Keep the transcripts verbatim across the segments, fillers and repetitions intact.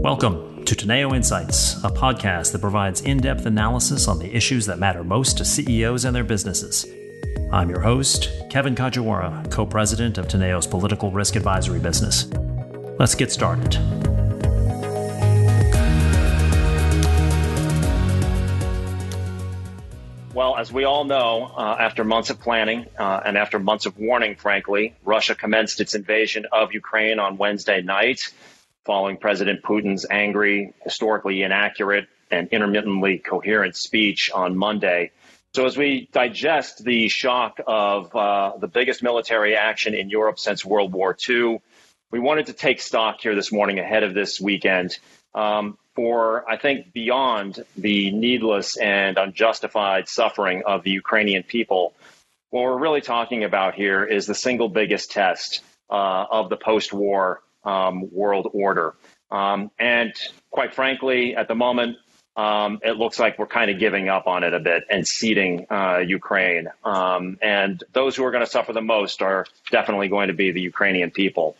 Welcome to Teneo Insights, a podcast that provides in-depth analysis on the issues that matter most to C E Os and their businesses. I'm your host, Kevin Kajiwara, co-president of Teneo's political risk advisory business. Let's get started. Well, as we all know, uh, after months of planning uh, and after months of warning, frankly, Russia commenced its invasion of Ukraine on Wednesday night, following President Putin's angry, historically inaccurate, and intermittently coherent speech on Monday. So as we digest the shock of uh, the biggest military action in Europe since World War Two, we wanted to take stock here this morning ahead of this weekend um, for, I think, beyond the needless and unjustified suffering of the Ukrainian people. What we're really talking about here is the single biggest test uh, of the post-war Um, world order. Um, and quite frankly, at the moment, um, it looks like we're kind of giving up on it a bit and ceding uh, Ukraine. Um, and those who are going to suffer the most are definitely going to be the Ukrainian people.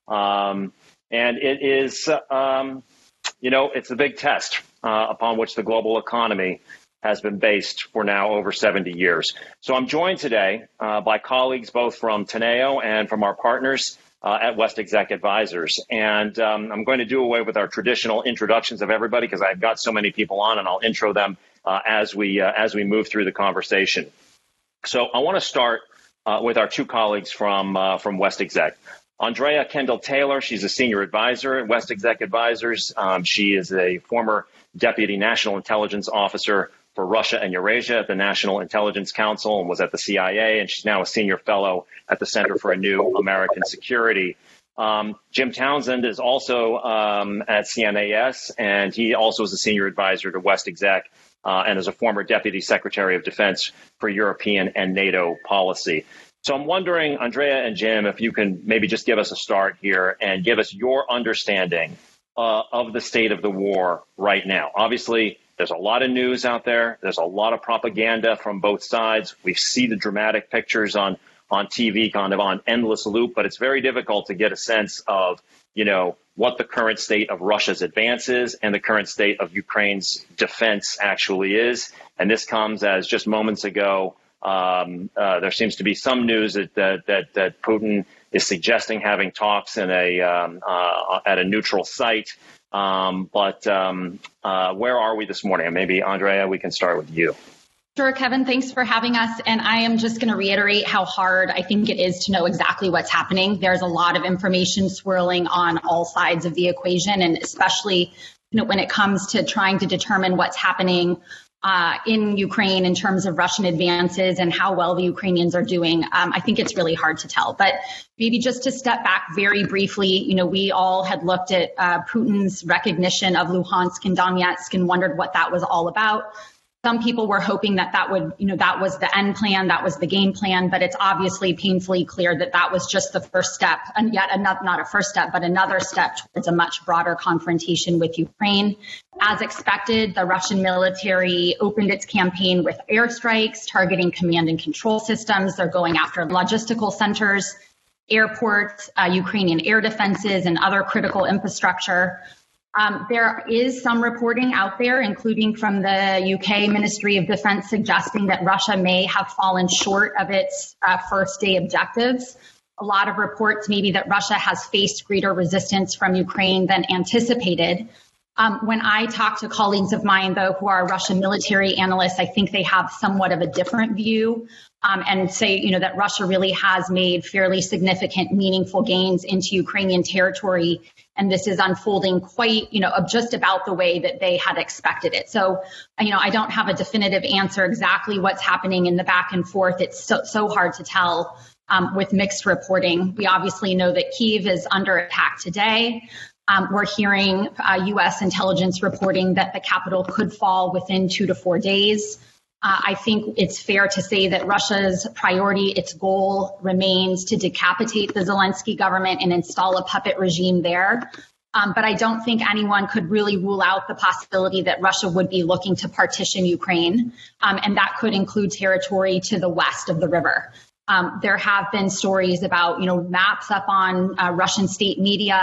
Um, and it is, um, you know, it's a big test uh, upon which the global economy has been based for now over seventy years. So I'm joined today uh, by colleagues both from Teneo and from our partners Uh, at WestExec Advisors. And um, I'm going to do away with our traditional introductions of everybody because I've got so many people on, and I'll intro them uh, as we uh, as we move through the conversation. So I want to start uh, with our two colleagues from uh, from WestExec. Andrea Kendall-Taylor, she's a senior advisor at WestExec Advisors. Um, she is a former deputy national intelligence officer for Russia and Eurasia at the National Intelligence Council and was at the C I A, and she's now a senior fellow at the Center for a New American Security. Um, Jim Townsend is also um, at C N A S, and he also is a senior advisor to WestExec uh, and is a former Deputy Secretary of Defense for European and NATO policy. So I'm wondering, Andrea and Jim, if you can maybe just give us a start here and give us your understanding uh, of the state of the war right now. Obviously, there's a lot of news out there. There's a lot of propaganda from both sides. We see the dramatic pictures on, on T V kind of on endless loop, but it's very difficult to get a sense of, you know, what the current state of Russia's advance is and the current state of Ukraine's defense actually is. And this comes as just moments ago, um, uh, there seems to be some news that, that, that, that Putin is suggesting having talks in a, um, uh, at a neutral site. Um, but um, uh, where are we this morning? And maybe, Andrea, we can start with you. Sure, Kevin, thanks for having us. And I am just going to reiterate how hard I think it is to know exactly what's happening. There's a lot of information swirling on all sides of the equation, and especially you know, when it comes to trying to determine what's happening Uh, in Ukraine in terms of Russian advances and how well the Ukrainians are doing. Um, I think it's really hard to tell. But maybe just to step back very briefly, you know, we all had looked at uh, Putin's recognition of Luhansk and Donetsk and wondered what that was all about. Some people were hoping that that would, you know, that was the end plan, that was the game plan, but it's obviously painfully clear that that was just the first step, and yet another, not a first step, but another step towards a much broader confrontation with Ukraine. As expected, the Russian military opened its campaign with airstrikes targeting command and control systems. They're going after logistical centers, airports, uh, Ukrainian air defenses, and other critical infrastructure. Um, there is some reporting out there, including from the U K Ministry of Defense, suggesting that Russia may have fallen short of its uh, first day objectives. A lot of reports maybe that Russia has faced greater resistance from Ukraine than anticipated. Um, when I talk to colleagues of mine, though, who are Russian military analysts, I think they have somewhat of a different view um, and say, you know, that Russia really has made fairly significant, meaningful gains into Ukrainian territory. And this is unfolding quite, you know, just about the way that they had expected it. So, you know, I don't have a definitive answer exactly what's happening in the back and forth. It's so, so hard to tell um, with mixed reporting. We obviously know that Kyiv is under attack today. Um, we're hearing uh, U S intelligence reporting that the capital could fall within two to four days. Uh, I think it's fair to say that Russia's priority, its goal remains to decapitate the Zelensky government and install a puppet regime there. Um, but I don't think anyone could really rule out the possibility that Russia would be looking to partition Ukraine, um, and that could include territory to the west of the river. Um, there have been stories about, you know, maps up on uh, Russian state media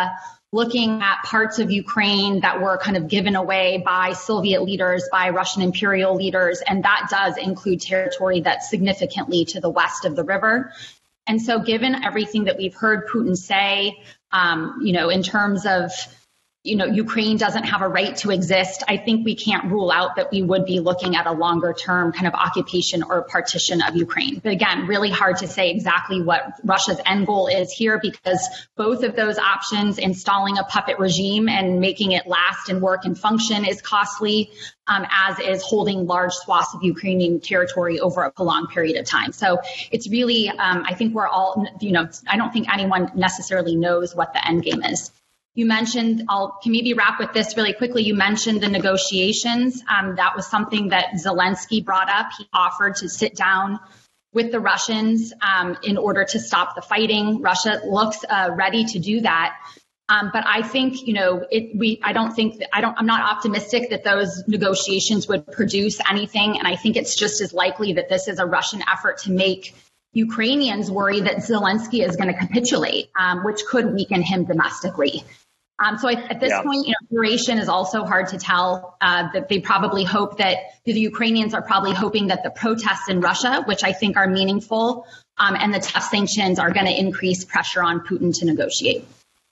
looking at parts of Ukraine that were kind of given away by Soviet leaders, by Russian imperial leaders, and that does include territory that's significantly to the west of the river. And so given everything that we've heard Putin say, um, you know, in terms of you know, Ukraine doesn't have a right to exist, I think we can't rule out that we would be looking at a longer term kind of occupation or partition of Ukraine. But again, really hard to say exactly what Russia's end goal is here, because both of those options, installing a puppet regime and making it last and work and function, is costly, um, as is holding large swaths of Ukrainian territory over a prolonged period of time. So it's really, um, I think we're all, you know, I don't think anyone necessarily knows what the end game is. You mentioned, I'll can maybe wrap with this really quickly. You mentioned the negotiations. Um, that was something that Zelensky brought up. He offered to sit down with the Russians um, in order to stop the fighting. Russia looks uh, ready to do that. Um, but I think, you know, it, we, I don't think that, I don't, I'm not optimistic that those negotiations would produce anything. And I think it's just as likely that this is a Russian effort to make Ukrainians worry that Zelensky is going to capitulate, um, which could weaken him domestically. Um, so I, at this yeah. point, you know, duration is also hard to tell. Uh, that they probably hope that the Ukrainians are probably hoping that the protests in Russia, which I think are meaningful, um, and the tough sanctions are going to increase pressure on Putin to negotiate.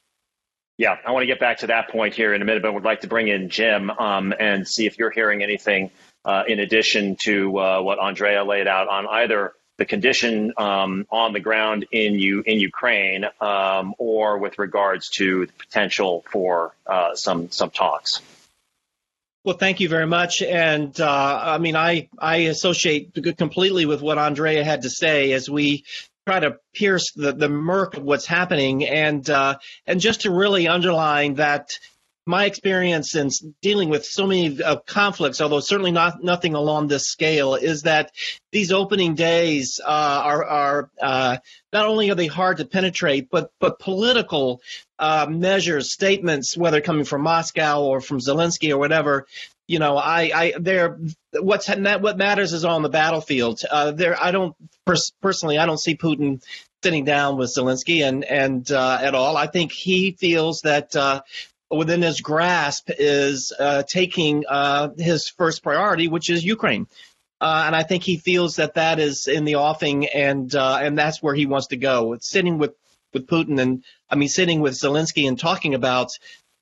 Yeah, I want to get back to that point here in a minute, but would like to bring in Jim um, and see if you're hearing anything uh, in addition to uh, what Andrea laid out on either the condition um, on the ground in you in Ukraine, um, or with regards to the potential for uh, some some talks. Well, thank you very much. And uh, I mean, I I associate completely with what Andrea had to say as we try to pierce the, the murk of what's happening, and uh, and just to really underline that my experience in dealing with so many uh, conflicts, although certainly not nothing along this scale, is that these opening days uh, are, are uh, not only are they hard to penetrate, but but political uh, measures, statements, whether coming from Moscow or from Zelensky or whatever, you know, I, I they're what's what matters is on the battlefield. Uh, there, I don't pers- personally, I don't see Putin sitting down with Zelensky and and uh, at all. I think he feels that. Uh, within his grasp is uh, taking uh, his first priority, which is Ukraine. Uh, and I think he feels that that is in the offing, and uh, and that's where he wants to go. It's sitting with, with Putin and, I mean, sitting with Zelensky and talking about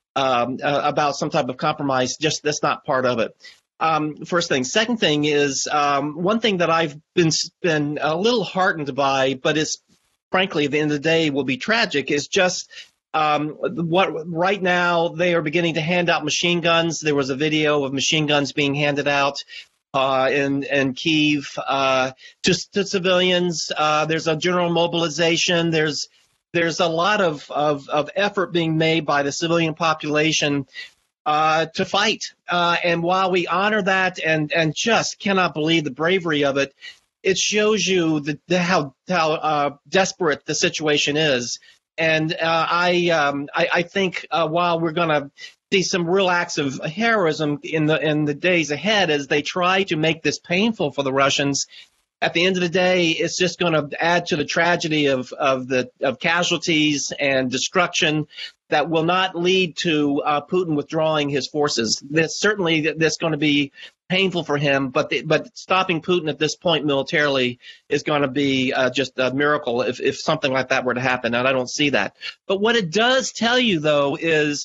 um, uh, about some type of compromise, just that's not part of it. Um, first thing. Second thing is um, one thing that I've been, been a little heartened by, but is frankly, at the end of the day, will be tragic, is just Um, what right now they are beginning to hand out machine guns. There was a video of machine guns being handed out uh, in in Kyiv uh, to, to civilians. Uh, there's a general mobilization. There's there's a lot of, of, of effort being made by the civilian population uh, to fight. Uh, and while we honor that and and just cannot believe the bravery of it, it shows you the, the how how uh, desperate the situation is. And uh, I, um, I I think uh, while we're going to see some real acts of heroism in the in the days ahead as they try to make this painful for the Russians, at the end of the day, it's just going to add to the tragedy of of the of casualties and destruction that will not lead to uh, Putin withdrawing his forces. This certainly that's going to be painful for him, but the, but stopping Putin at this point militarily is going to be uh, just a miracle if, if something like that were to happen, and I don't see that. But what it does tell you, though, is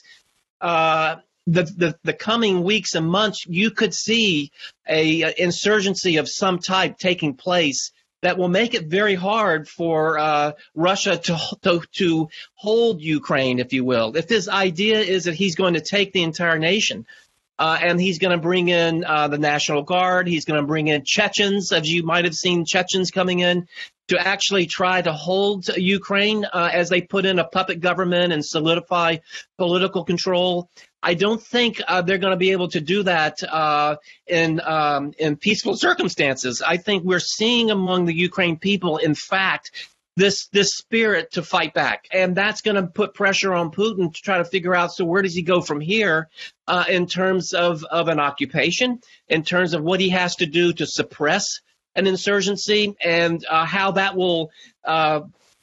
uh, the, the the coming weeks and months, you could see a, a insurgency of some type taking place that will make it very hard for uh, Russia to, to to hold Ukraine, if you will. If his idea is that he's going to take the entire nation, Uh, and he's going to bring in uh, the National Guard. He's going to bring in Chechens, as you might have seen Chechens coming in to actually try to hold Ukraine uh, as they put in a puppet government and solidify political control. I don't think uh, they're going to be able to do that uh, in um, in peaceful circumstances. I think we're seeing among the Ukraine people, in fact, this this spirit to fight back. And that's going to put pressure on Putin to try to figure out, so where does he go from here uh, in terms of, of an occupation, in terms of what he has to do to suppress an insurgency, and uh, how that will uh,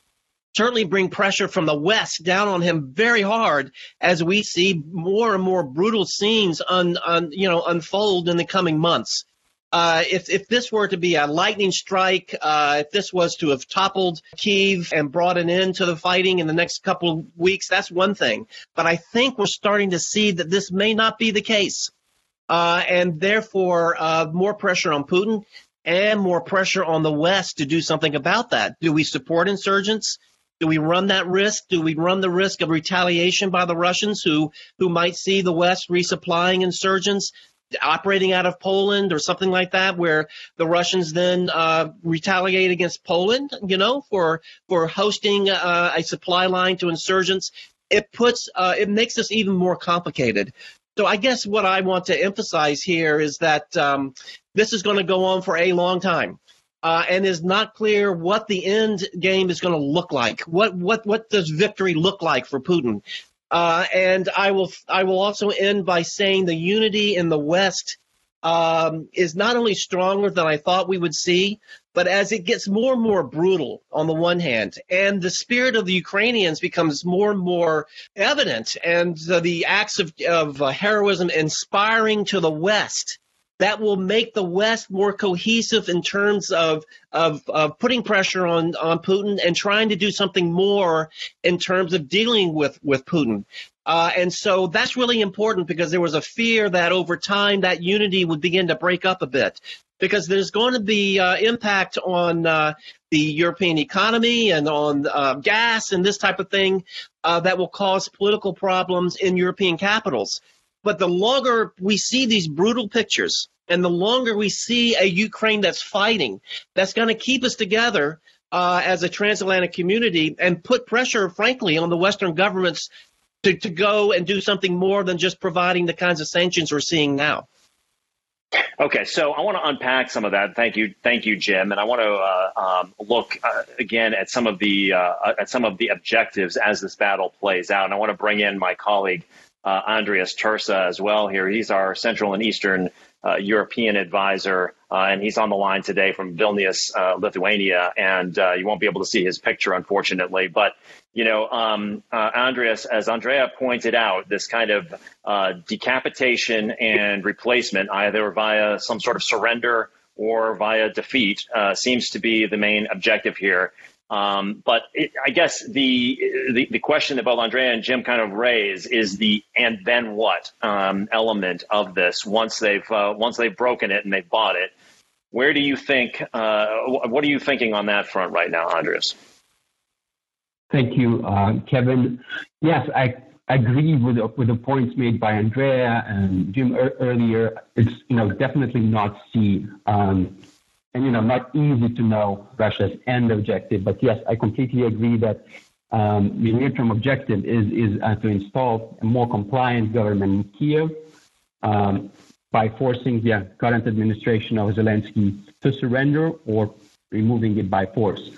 certainly bring pressure from the West down on him very hard as we see more and more brutal scenes un, un, you know, unfold in the coming months. Uh, if, if this were to be a lightning strike, uh, if this was to have toppled Kyiv and brought an end to the fighting in the next couple of weeks, that's one thing. But I think we're starting to see that this may not be the case. Uh, and therefore, uh, more pressure on Putin and more pressure on the West to do something about that. Do we support insurgents? Do we run that risk? Do we run the risk of retaliation by the Russians who, who might see the West resupplying insurgents operating out of Poland or something like that, where the Russians then uh, retaliate against Poland, you know, for for hosting uh, a supply line to insurgents? It puts uh, it makes this even more complicated. So I guess what I want to emphasize here is that um, this is going to go on for a long time. Uh, and is not clear what the end game is going to look like. What what what does victory look like for Putin? Uh, and I will I will also end by saying the unity in the West um, is not only stronger than I thought we would see, but as it gets more and more brutal on the one hand, and the spirit of the Ukrainians becomes more and more evident, and uh, the acts of, of uh, heroism inspiring to the West, that will make the West more cohesive in terms of, of, of putting pressure on, on Putin and trying to do something more in terms of dealing with, with Putin. Uh, and so that's really important because there was a fear that over time that unity would begin to break up a bit, because there's going to be uh, impact on uh, the European economy and on uh, gas and this type of thing uh, that will cause political problems in European capitals. But the longer we see these brutal pictures and the longer we see a Ukraine that's fighting, that's going to keep us together uh, as a transatlantic community and put pressure, frankly, on the Western governments to, to go and do something more than just providing the kinds of sanctions we're seeing now. Okay, so I want to unpack some of that. Thank you, thank you, Jim. And I want to uh, um, look uh, again at some of the uh, at some of the objectives as this battle plays out. And I want to bring in my colleague uh, Andreas Tursa as well here. He's our Central and Eastern uh, European advisor, uh, and he's on the line today from Vilnius, uh, Lithuania. And uh, you won't be able to see his picture, unfortunately, but. You know, um, uh, Andreas, as Andrea pointed out, this kind of uh, decapitation and replacement, either via some sort of surrender or via defeat, uh, seems to be the main objective here. Um, but it, I guess the, the the question that both Andrea and Jim kind of raise is the and then what um, element of this once they've uh, once they've broken it and they've bought it. Where do you think? Uh, what are you thinking on that front right now, Andreas? Thank you, uh, Kevin. Yes, I agree with the, with the points made by Andrea and Jim er- earlier. It's you know definitely not see um, and you know not easy to know Russia's end objective. But yes, I completely agree that um, the near-term objective is is uh, to install a more compliant government in Kiev um, by forcing the current administration of Zelensky to surrender or removing it by force.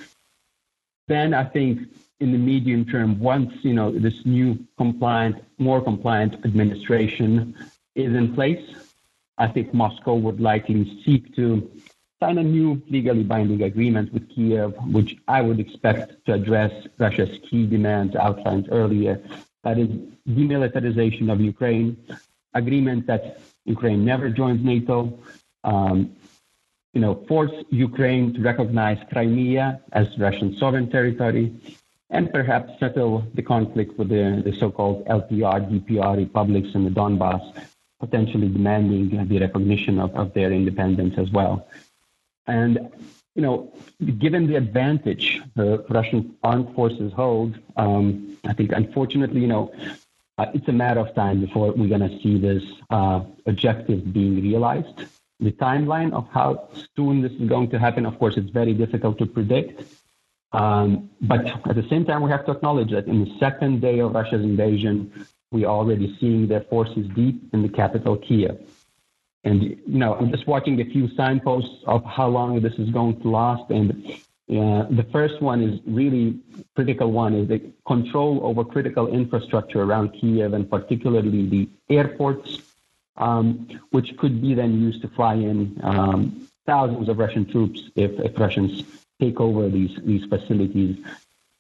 Then I think. In the medium term, once you know this new compliant, more compliant administration is in place, I think Moscow would likely seek to sign a new legally binding agreement with Kiev, which I would expect to address Russia's key demands outlined earlier. That is demilitarization of Ukraine, agreement that Ukraine never joins NATO, um, you know, force Ukraine to recognize Crimea as Russian sovereign territory, and perhaps settle the conflict with the, the so-called L P R, D P R republics in the Donbass, potentially demanding the recognition of, of their independence as well. And, you know, given the advantage the Russian armed forces hold, um, I think, unfortunately, you know, uh, it's a matter of time before we're going to see this uh, objective being realized. The timeline of how soon this is going to happen, of course, it's very difficult to predict. Um, but at the same time, we have to acknowledge that in the second day of Russia's invasion, we are already seeing their forces deep in the capital, Kiev. And, you know, I'm just watching a few signposts of how long this is going to last. And uh, the first one is really critical one is the control over critical infrastructure around Kiev, and particularly the airports, um, which could be then used to fly in um, thousands of Russian troops if, if Russians take over these, these facilities.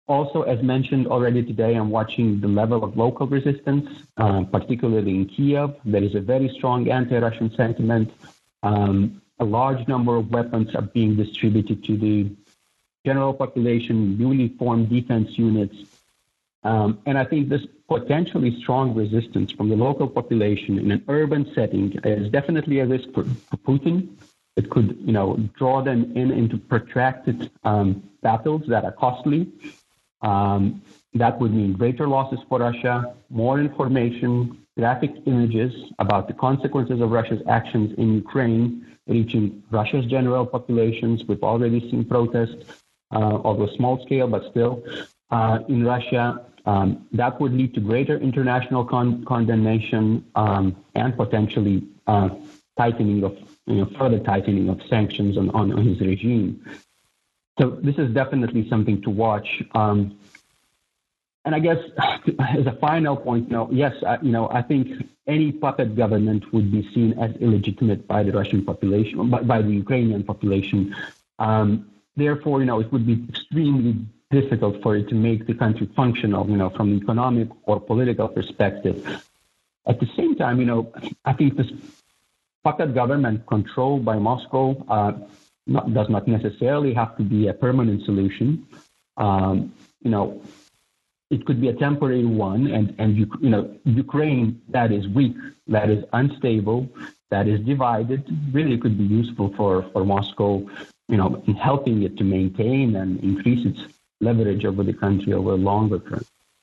Also, as mentioned already today, I'm watching the level of local resistance, uh, particularly in Kiev. There is a very strong anti-Russian sentiment. Um, a large number of weapons are being distributed to the general population, newly formed defense units. Um, and I think this potentially strong resistance from the local population in an urban setting is definitely a risk for, for Putin. It could, you know, draw them in into protracted um, battles that are costly. Um, that would mean greater losses for Russia, more information, graphic images about the consequences of Russia's actions in Ukraine, reaching Russia's general populations. We've already seen protests, uh, although small scale, but still, uh, in Russia. Um, that would lead to greater international con- condemnation um, and potentially uh, tightening of, you know, further tightening of sanctions on, on, on his regime. So this is definitely something to watch. Um, and I guess as a final point, you know, yes, I, you know, I think any puppet government would be seen as illegitimate by the Russian population, by, by the Ukrainian population. Um, therefore, you know, it would be extremely difficult for it to make the country functional, you know, from an economic or political perspective. At the same time, you know, I think this puppet government controlled by Moscow uh, not, does not necessarily have to be a permanent solution. Um, you know, it could be a temporary one, and and you, you know, Ukraine that is weak, that is unstable, that is divided, really could be useful for for Moscow, you know, in helping it to maintain and increase its leverage over the country over a longer term.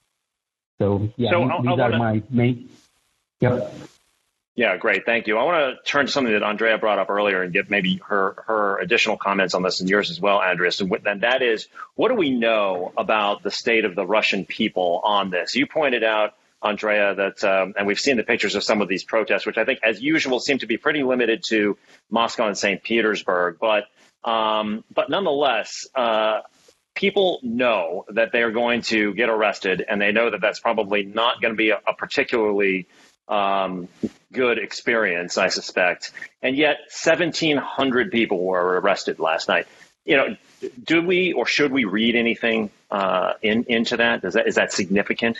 So yeah, so these, I, these I wanna... are my main. Yep. Yeah, great. Thank you. I want to turn to something that Andrea brought up earlier and get maybe her, her additional comments on this and yours as well, Andrea. So, and that is, what do we know about the state of the Russian people on this? You pointed out, Andrea, that, um, and we've seen the pictures of some of these protests, which I think, as usual, seem to be pretty limited to Moscow and Saint Petersburg. But, um, but nonetheless, uh, people know that they are going to get arrested, and they know that that's probably not going to be a, a particularly um, good experience, I suspect. And yet seventeen hundred people were arrested last night. You know, do we or should we read anything uh, in, into that? Is that is that significant?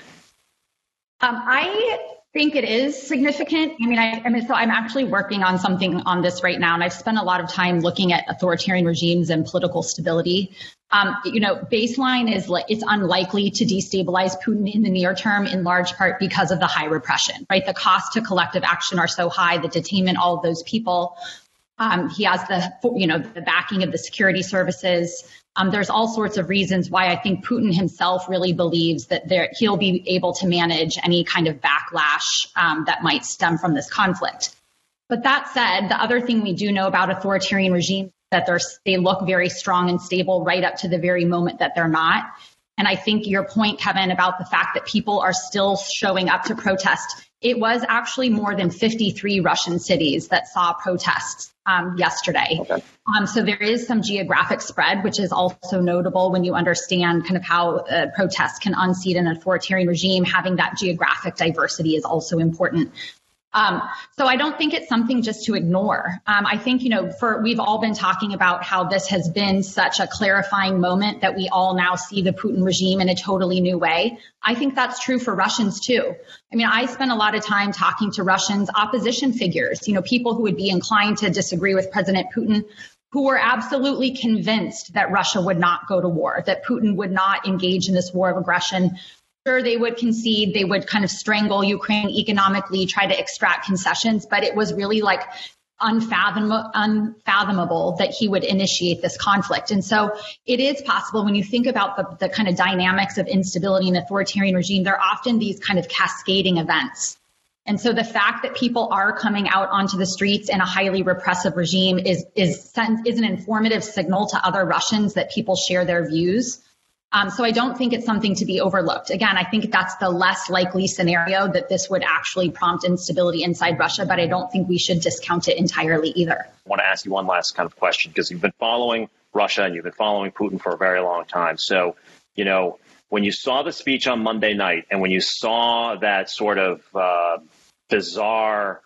Um, I think it is significant. I mean, I, I mean, so I'm actually working on something on this right now, and I've spent a lot of time looking at authoritarian regimes and political stability. Um, you know, baseline is like it's unlikely to destabilize Putin in the near term, in large part because of the high repression, right? The costs to collective action are so high, the detainment, all of those people. Um, he has the, you know, the backing of the security services. Um, there's all sorts of reasons why I think Putin himself really believes that there, he'll be able to manage any kind of backlash um, that might stem from this conflict. But that said, the other thing we do know about authoritarian regimes is that they're, they look very strong and stable right up to the very moment that they're not. And I think your point, Kevin, about the fact that people are still showing up to protest, it was actually more than fifty-three Russian cities that saw protests um, yesterday. Okay. Um, so there is some geographic spread, which is also notable when you understand kind of how uh, protests can unseat an authoritarian regime. Having that geographic diversity is also important. Um, so I don't think it's something just to ignore. Um, I think, you know, for we've all been talking about how this has been such a clarifying moment that we all now see the Putin regime in a totally new way. I think that's true for Russians, too. I mean, I spent a lot of time talking to Russians, opposition figures, you know, people who would be inclined to disagree with President Putin, who were absolutely convinced that Russia would not go to war, that Putin would not engage in this war of aggression. Sure, they would concede, they would kind of strangle Ukraine economically, try to extract concessions, but it was really like unfathom- unfathomable that he would initiate this conflict. And so it is possible when you think about the, the kind of dynamics of instability in authoritarian regime, there are often these kind of cascading events. And so the fact that people are coming out onto the streets in a highly repressive regime is, is, is an informative signal to other Russians that people share their views. Um, so I don't think it's something to be overlooked. Again, I think that's the less likely scenario that this would actually prompt instability inside Russia, but I don't think we should discount it entirely either. I want to ask you one last kind of question, because you've been following Russia and you've been following Putin for a very long time. So, you know, when you saw the speech on Monday night and when you saw that sort of uh, bizarre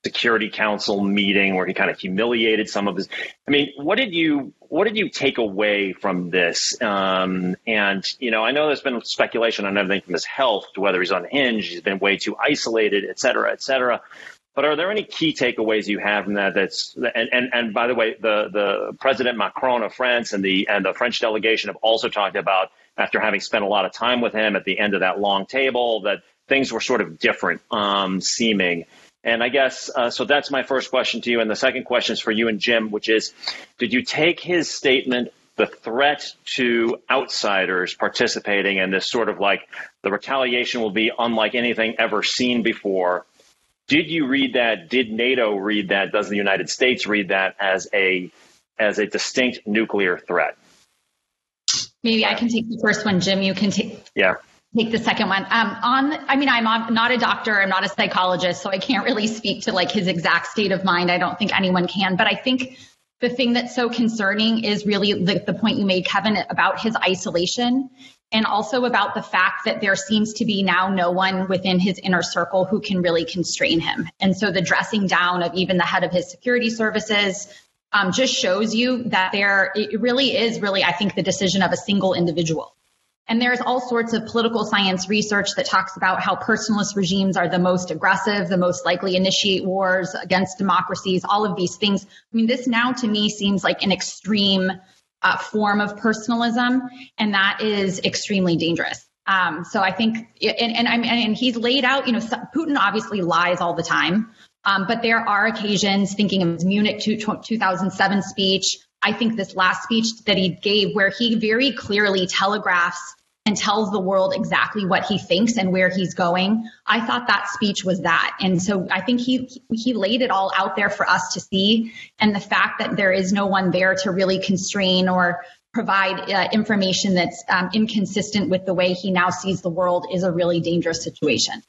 Security Council meeting where he kind of humiliated some of his. I mean, what did you what did you take away from this? Um, and you know, I know there's been speculation on everything from his health to whether he's unhinged, he's been way too isolated, et cetera, et cetera. But are there any key takeaways you have from that? That's and and, and by the way, the the President Macron of France and the and the French delegation have also talked about, after having spent a lot of time with him at the end of that long table, that things were sort of different um, seeming. And I guess, uh, so that's my first question to you. And the second question is for you and Jim, which is, did you take his statement, the threat to outsiders participating in this sort of like the retaliation will be unlike anything ever seen before? Did you read that? Did NATO read that? Does the United States read that as a as a distinct nuclear threat? Maybe I can take the first one, Jim. You can take. Yeah. Take the second one. Um, on, I mean, I'm not a doctor, I'm not a psychologist, so I can't really speak to like his exact state of mind. I don't think anyone can, but I think the thing that's so concerning is really the, the point you made, Kevin, about his isolation, and also about the fact that there seems to be now no one within his inner circle who can really constrain him. And so the dressing down of even the head of his security services um, just shows you that there, it really is really, I think, the decision of a single individual. And there's all sorts of political science research that talks about how personalist regimes are the most aggressive, the most likely initiate wars against democracies, all of these things. I mean, this now to me seems like an extreme uh, form of personalism, and that is extremely dangerous. Um, so I think, and, and, and, and he's laid out, you know, Putin obviously lies all the time, um, but there are occasions, thinking of his Munich two thousand seven speech, I think this last speech that he gave, where he very clearly telegraphs and tells the world exactly what he thinks and where he's going. I thought that speech was that. And so I think he he laid it all out there for us to see. And the fact that there is no one there to really constrain or provide uh, information that's um, inconsistent with the way he now sees the world is a really dangerous situation.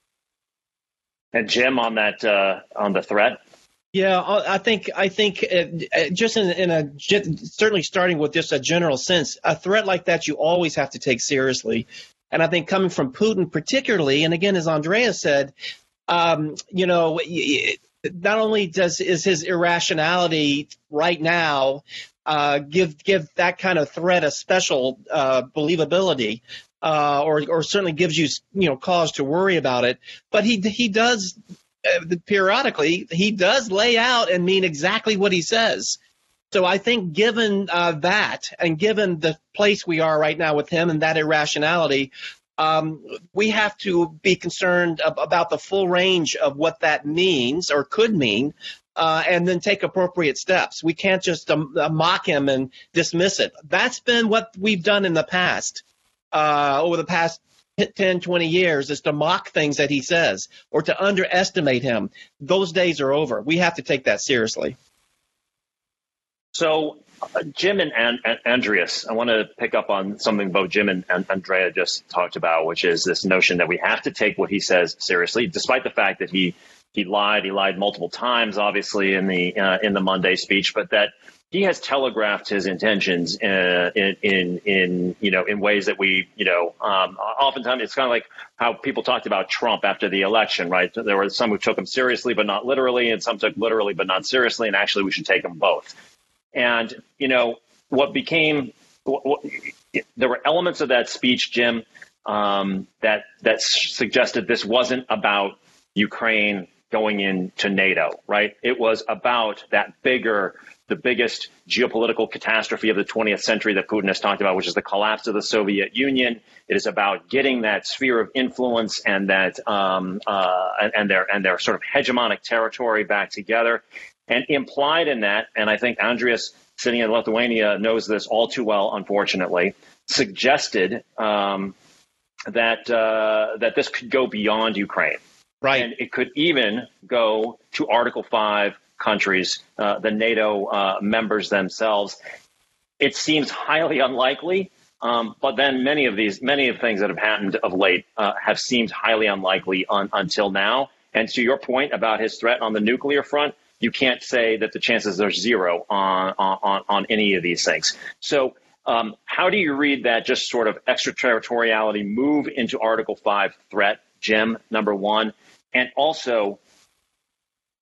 And Jim, on that, uh, on the threat? Yeah, I think I think uh, just in, in a certainly starting with just a general sense, a threat like that you always have to take seriously. And I think coming from Putin particularly, and again, as Andrea said, um, you know, not only does is his irrationality right now uh, give give that kind of threat a special uh, believability, uh, or or certainly gives you you know cause to worry about it, but he he does. Periodically, he does lay out and mean exactly what he says. So I think given uh, that, and given the place we are right now with him and that irrationality, um, we have to be concerned ab- about the full range of what that means or could mean, uh, and then take appropriate steps. We can't just um, uh, mock him and dismiss it. That's been what we've done in the past, uh, over the past ten, twenty years, is to mock things that he says or to underestimate him. Those days are over. We have to take that seriously. So, uh, Jim and, and, and Andreas, I want to pick up on something both Jim and, and Andrea just talked about, which is this notion that we have to take what he says seriously, despite the fact that he he lied. He lied multiple times, obviously, in the uh, in the Monday speech, but that he has telegraphed his intentions uh, in, in, in, you know, in ways that we, you know, um, oftentimes it's kind of like how people talked about Trump after the election, right? There were some who took him seriously, but not literally, and some took literally, but not seriously. And actually, we should take them both. And, you know, what became, what, what, there were elements of that speech, Jim, um, that, that suggested this wasn't about Ukraine going into NATO, right? It was about that bigger, the biggest geopolitical catastrophe of the twentieth century that Putin has talked about, which is the collapse of the Soviet Union. It is about getting that sphere of influence and that um, uh, and, and their and their sort of hegemonic territory back together. And implied in that, and I think Andreas, sitting in Lithuania, knows this all too well, unfortunately, suggested um, that uh, that this could go beyond Ukraine. Right. And it could even go to Article five countries, uh, the NATO uh, members themselves. It seems highly unlikely, um, but then many of these, many of the things that have happened of late uh, have seemed highly unlikely on, until now. And to your point about his threat on the nuclear front, you can't say that the chances are zero on on, on any of these things. So um, how do you read that just sort of extraterritoriality move into Article five threat, Jim, number one? And also,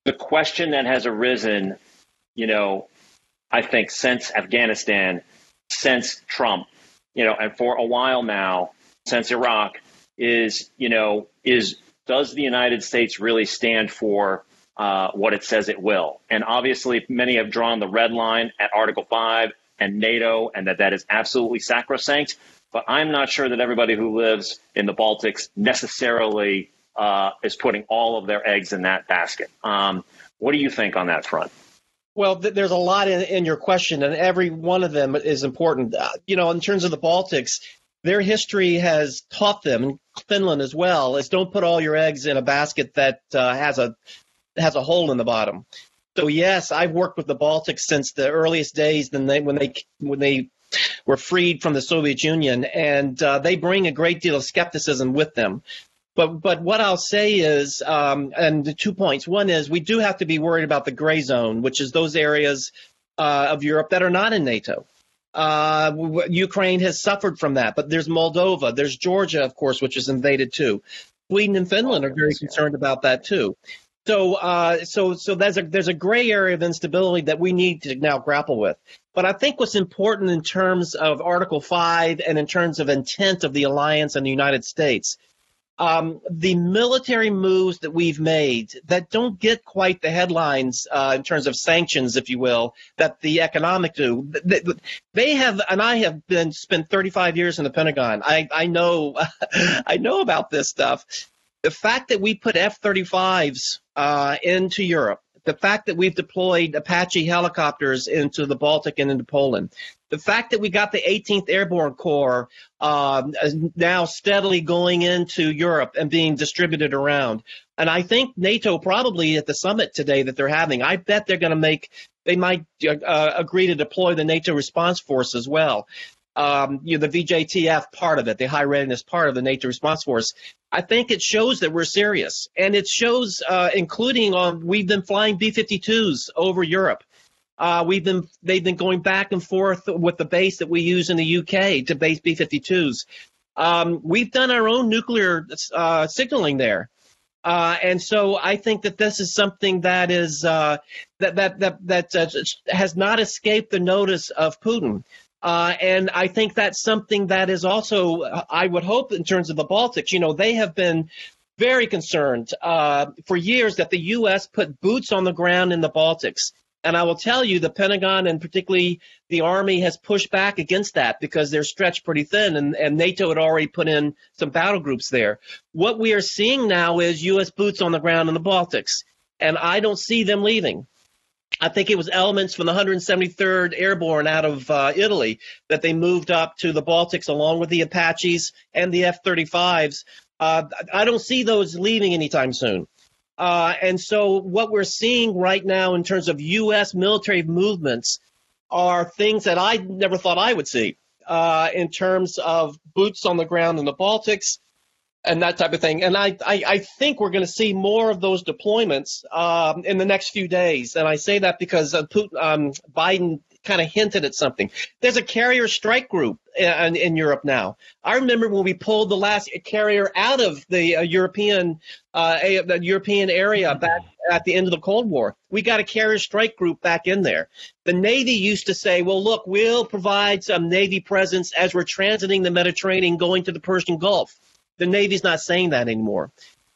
the question that has arisen, you know, I think since Afghanistan, since Trump, you know, and for a while now, since Iraq, is, you know, is does the United States really stand for uh, what it says it will? And obviously, many have drawn the red line at Article five and NATO, and that that is absolutely sacrosanct. But I'm not sure that everybody who lives in the Baltics necessarily uh, is putting all of their eggs in that basket. Um, what do you think on that front? Well, th- there's a lot in, in your question, and every one of them is important. Uh, you know, in terms of the Baltics, their history has taught them, and Finland as well, is don't put all your eggs in a basket that uh, has a has a hole in the bottom. So yes, I've worked with the Baltics since the earliest days when they when they when they were freed from the Soviet Union, and uh, they bring a great deal of skepticism with them. But but what I'll say is, um, and the two points. One is we do have to be worried about the gray zone, which is those areas uh, of Europe that are not in NATO. Uh, w- Ukraine has suffered from that, but there's Moldova, there's Georgia, of course, which is invaded too. Sweden and Finland are very concerned about that too. So uh, so so there's a there's a gray area of instability that we need to now grapple with. But I think what's important in terms of Article five and in terms of intent of the alliance and the United States. Um, the military moves that we've made that don't get quite the headlines uh, in terms of sanctions, if you will, that the economic do. They, they have, and I have been spent thirty-five years in the Pentagon. I, I know, I know about this stuff. The fact that we put F thirty-fives uh, into Europe, the fact that we've deployed Apache helicopters into the Baltic and into Poland, the fact that we got the eighteenth Airborne Corps uh, now steadily going into Europe and being distributed around. And I think NATO probably at the summit today that they're having, I bet they're going to make, they might uh, agree to deploy the NATO response force as well. Um, you know, the V J T F part of it, the high readiness part of the NATO response force. I think it shows that we're serious. And it shows, uh, including on, we've been flying B fifty-twos over Europe. Uh, we've been they've been going back and forth with the base that we use in the U K to base B fifty-twos. Um, we've done our own nuclear uh, signaling there, uh, and so I think that this is something that is uh, that that that that uh, has not escaped the notice of Putin. Uh, and I think that's something that is also, I would hope, in terms of the Baltics. You know, they have been very concerned uh, for years that the U S put boots on the ground in the Baltics. And I will tell you, the Pentagon and particularly the Army has pushed back against that because they're stretched pretty thin, and, and NATO had already put in some battle groups there. What we are seeing now is U S boots on the ground in the Baltics, and I don't see them leaving. I think it was elements from the one hundred seventy-third Airborne out of uh, Italy that they moved up to the Baltics along with the Apaches and the F thirty-fives. Uh, I don't see those leaving anytime soon. Uh, and so what we're seeing right now in terms of U S military movements are things that I never thought I would see uh, in terms of boots on the ground in the Baltics and that type of thing. And I, I, I think we're going to see more of those deployments um, in the next few days. And I say that because uh, Putin, um, Biden kind of hinted at something. There's a carrier strike group in, in Europe now. I remember when we pulled the last carrier out of the uh, European uh, a, the European area back at the end of the Cold War. We got a carrier strike group back in there. The Navy used to say, well, look, we'll provide some Navy presence as we're transiting the Mediterranean going to the Persian Gulf. The Navy's not saying that anymore.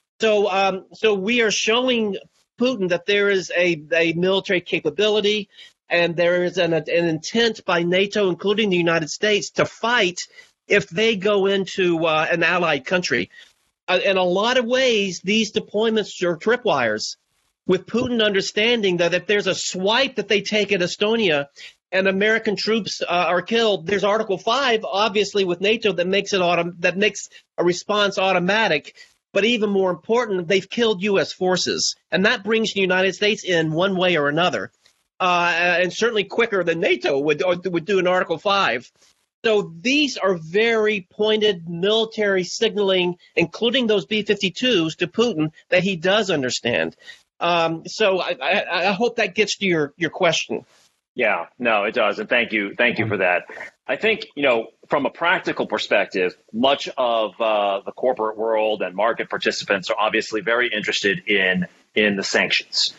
So um, so we are showing Putin that there is a, a military capability and there is an, an intent by NATO, including the United States, to fight if they go into uh, an allied country. Uh, in a lot of ways, these deployments are tripwires, with Putin understanding that if there's a swipe that they take at Estonia and American troops uh, are killed, there's Article five, obviously, with NATO that makes it autom- that makes a response automatic. But even more important, they've killed U S forces, and that brings the United States in one way or another, uh, and certainly quicker than NATO would would do in Article five. So these are very pointed military signaling, including those B fifty-twos, to Putin that he does understand. Um, so I, I, I hope that gets to your, your question. Yeah, no, it does. And thank you. Thank you for that. I think, you know, from a practical perspective, much of uh, the corporate world and market participants are obviously very interested in in the sanctions.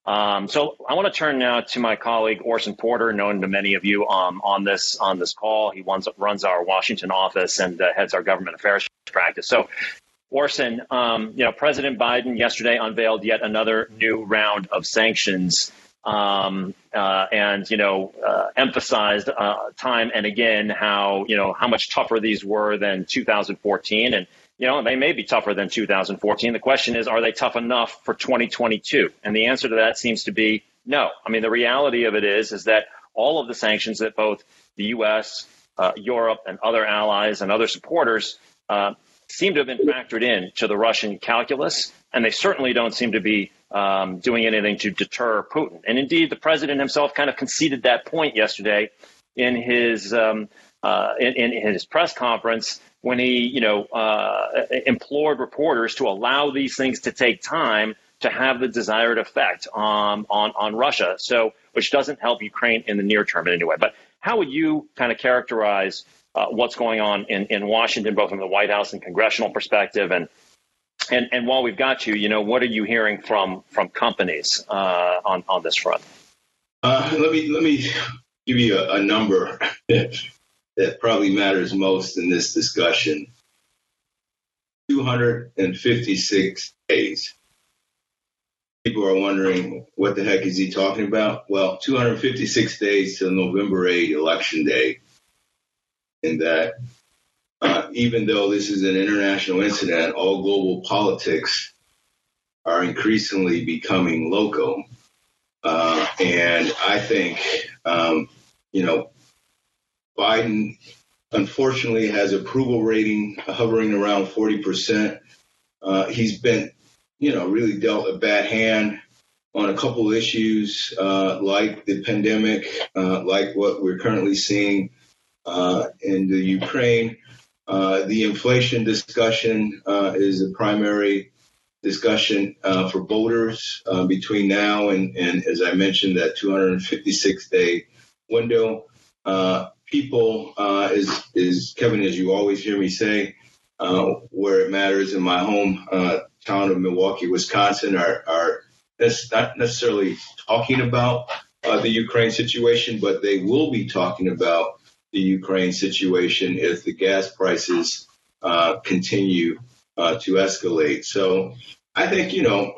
Um, so I want to turn now to my colleague Orson Porter, known to many of you um, on this on this call. He runs, runs our Washington office and uh, heads our government affairs practice. So, Orson, um, you know, President Biden yesterday unveiled yet another new round of sanctions, um, uh, and you know, uh, emphasized uh, time and again how you know how much tougher these were than two thousand fourteen, and you know, they may be tougher than two thousand fourteen. The question is, are they tough enough for twenty twenty-two? And the answer to that seems to be no. I mean, the reality of it is, is that all of the sanctions that both the U S, uh, Europe, and other allies and other supporters uh, seem to have been factored in to the Russian calculus, and they certainly don't seem to be um, doing anything to deter Putin. And indeed, the president himself kind of conceded that point yesterday in his um, uh, in, in his press conference, when he, you know, uh, implored reporters to allow these things to take time to have the desired effect on, on, on Russia. So, which doesn't help Ukraine in the near term in any way. But how would you kind of characterize uh, what's going on in, in Washington, both from the White House and congressional perspective? And and and while we've got you, you know, what are you hearing from from companies uh, on on this front? Uh, let me let me give you a, a number that probably matters most in this discussion. two hundred fifty-six days. People are wondering, what the heck is he talking about? Well, two hundred fifty-six days to November eighth, Election Day. And that uh, even though this is an international incident, all global politics are increasingly becoming local. Uh, and I think, um, you know, Biden, unfortunately, has approval rating hovering around forty percent. Uh, he's been, you know, really dealt a bad hand on a couple of issues uh, like the pandemic, uh, like what we're currently seeing uh, in the Ukraine. Uh, the inflation discussion uh, is a primary discussion uh, for voters uh, between now and, and, as I mentioned, that two hundred fifty-six day window. Uh, People, uh, is, is Kevin, as you always hear me say, uh, where it matters in my home uh, town of Milwaukee, Wisconsin, are, are not necessarily talking about uh, the Ukraine situation, but they will be talking about the Ukraine situation if the gas prices uh, continue uh, to escalate. So I think, you know,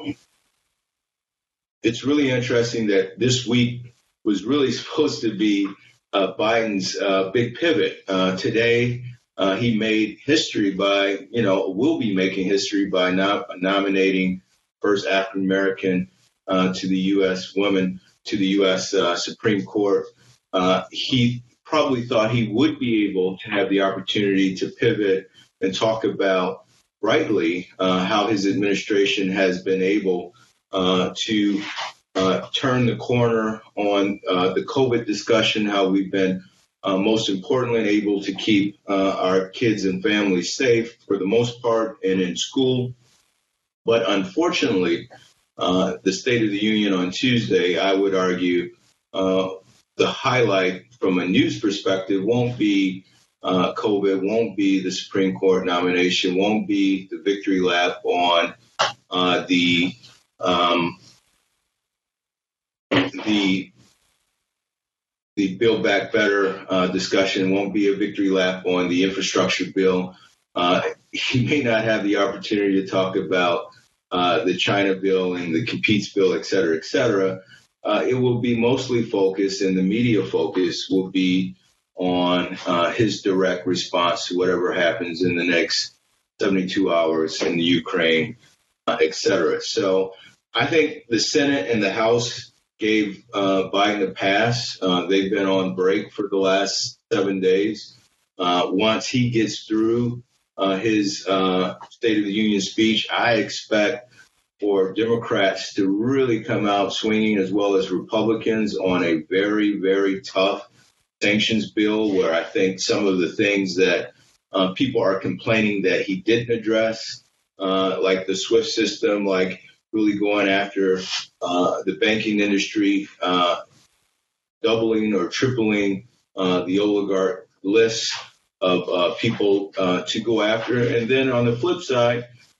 it's really interesting that this week was really supposed to be Uh, Biden's uh, big pivot. Uh, today, uh, he made history by, you know, will be making history by no- nominating first African American uh, to the U S woman to the U S Uh, Supreme Court. Uh, he probably thought he would be able to have the opportunity to pivot and talk about rightly uh, how his administration has been able uh, to Uh, turn the corner on uh, the COVID discussion, how we've been uh, most importantly able to keep uh, our kids and families safe for the most part and in school. But unfortunately, uh, the State of the Union on Tuesday, I would argue, uh, the highlight from a news perspective won't be uh, COVID, won't be the Supreme Court nomination, won't be the victory lap on uh, the um, The the Build Back Better uh, discussion, won't be a victory lap on the infrastructure bill. Uh, he may not have the opportunity to talk about uh, the China bill and the Competes bill, et cetera, et cetera. Uh, it will be mostly focused, and the media focus will be on uh, his direct response to whatever happens in the next seventy-two hours in the Ukraine, uh, et cetera. So I think the Senate and the House gave uh, Biden a pass. Uh, they've been on break for the last seven days. Uh, once he gets through uh, his uh, State of the Union speech, I expect for Democrats to really come out swinging, as well as Republicans, on a very, very tough sanctions bill, where I think some of the things that uh, people are complaining that he didn't address, uh, like the SWIFT system, like really going after uh, the banking industry, uh, doubling or tripling uh, the oligarch list of uh, people uh, to go after. And then on the flip side,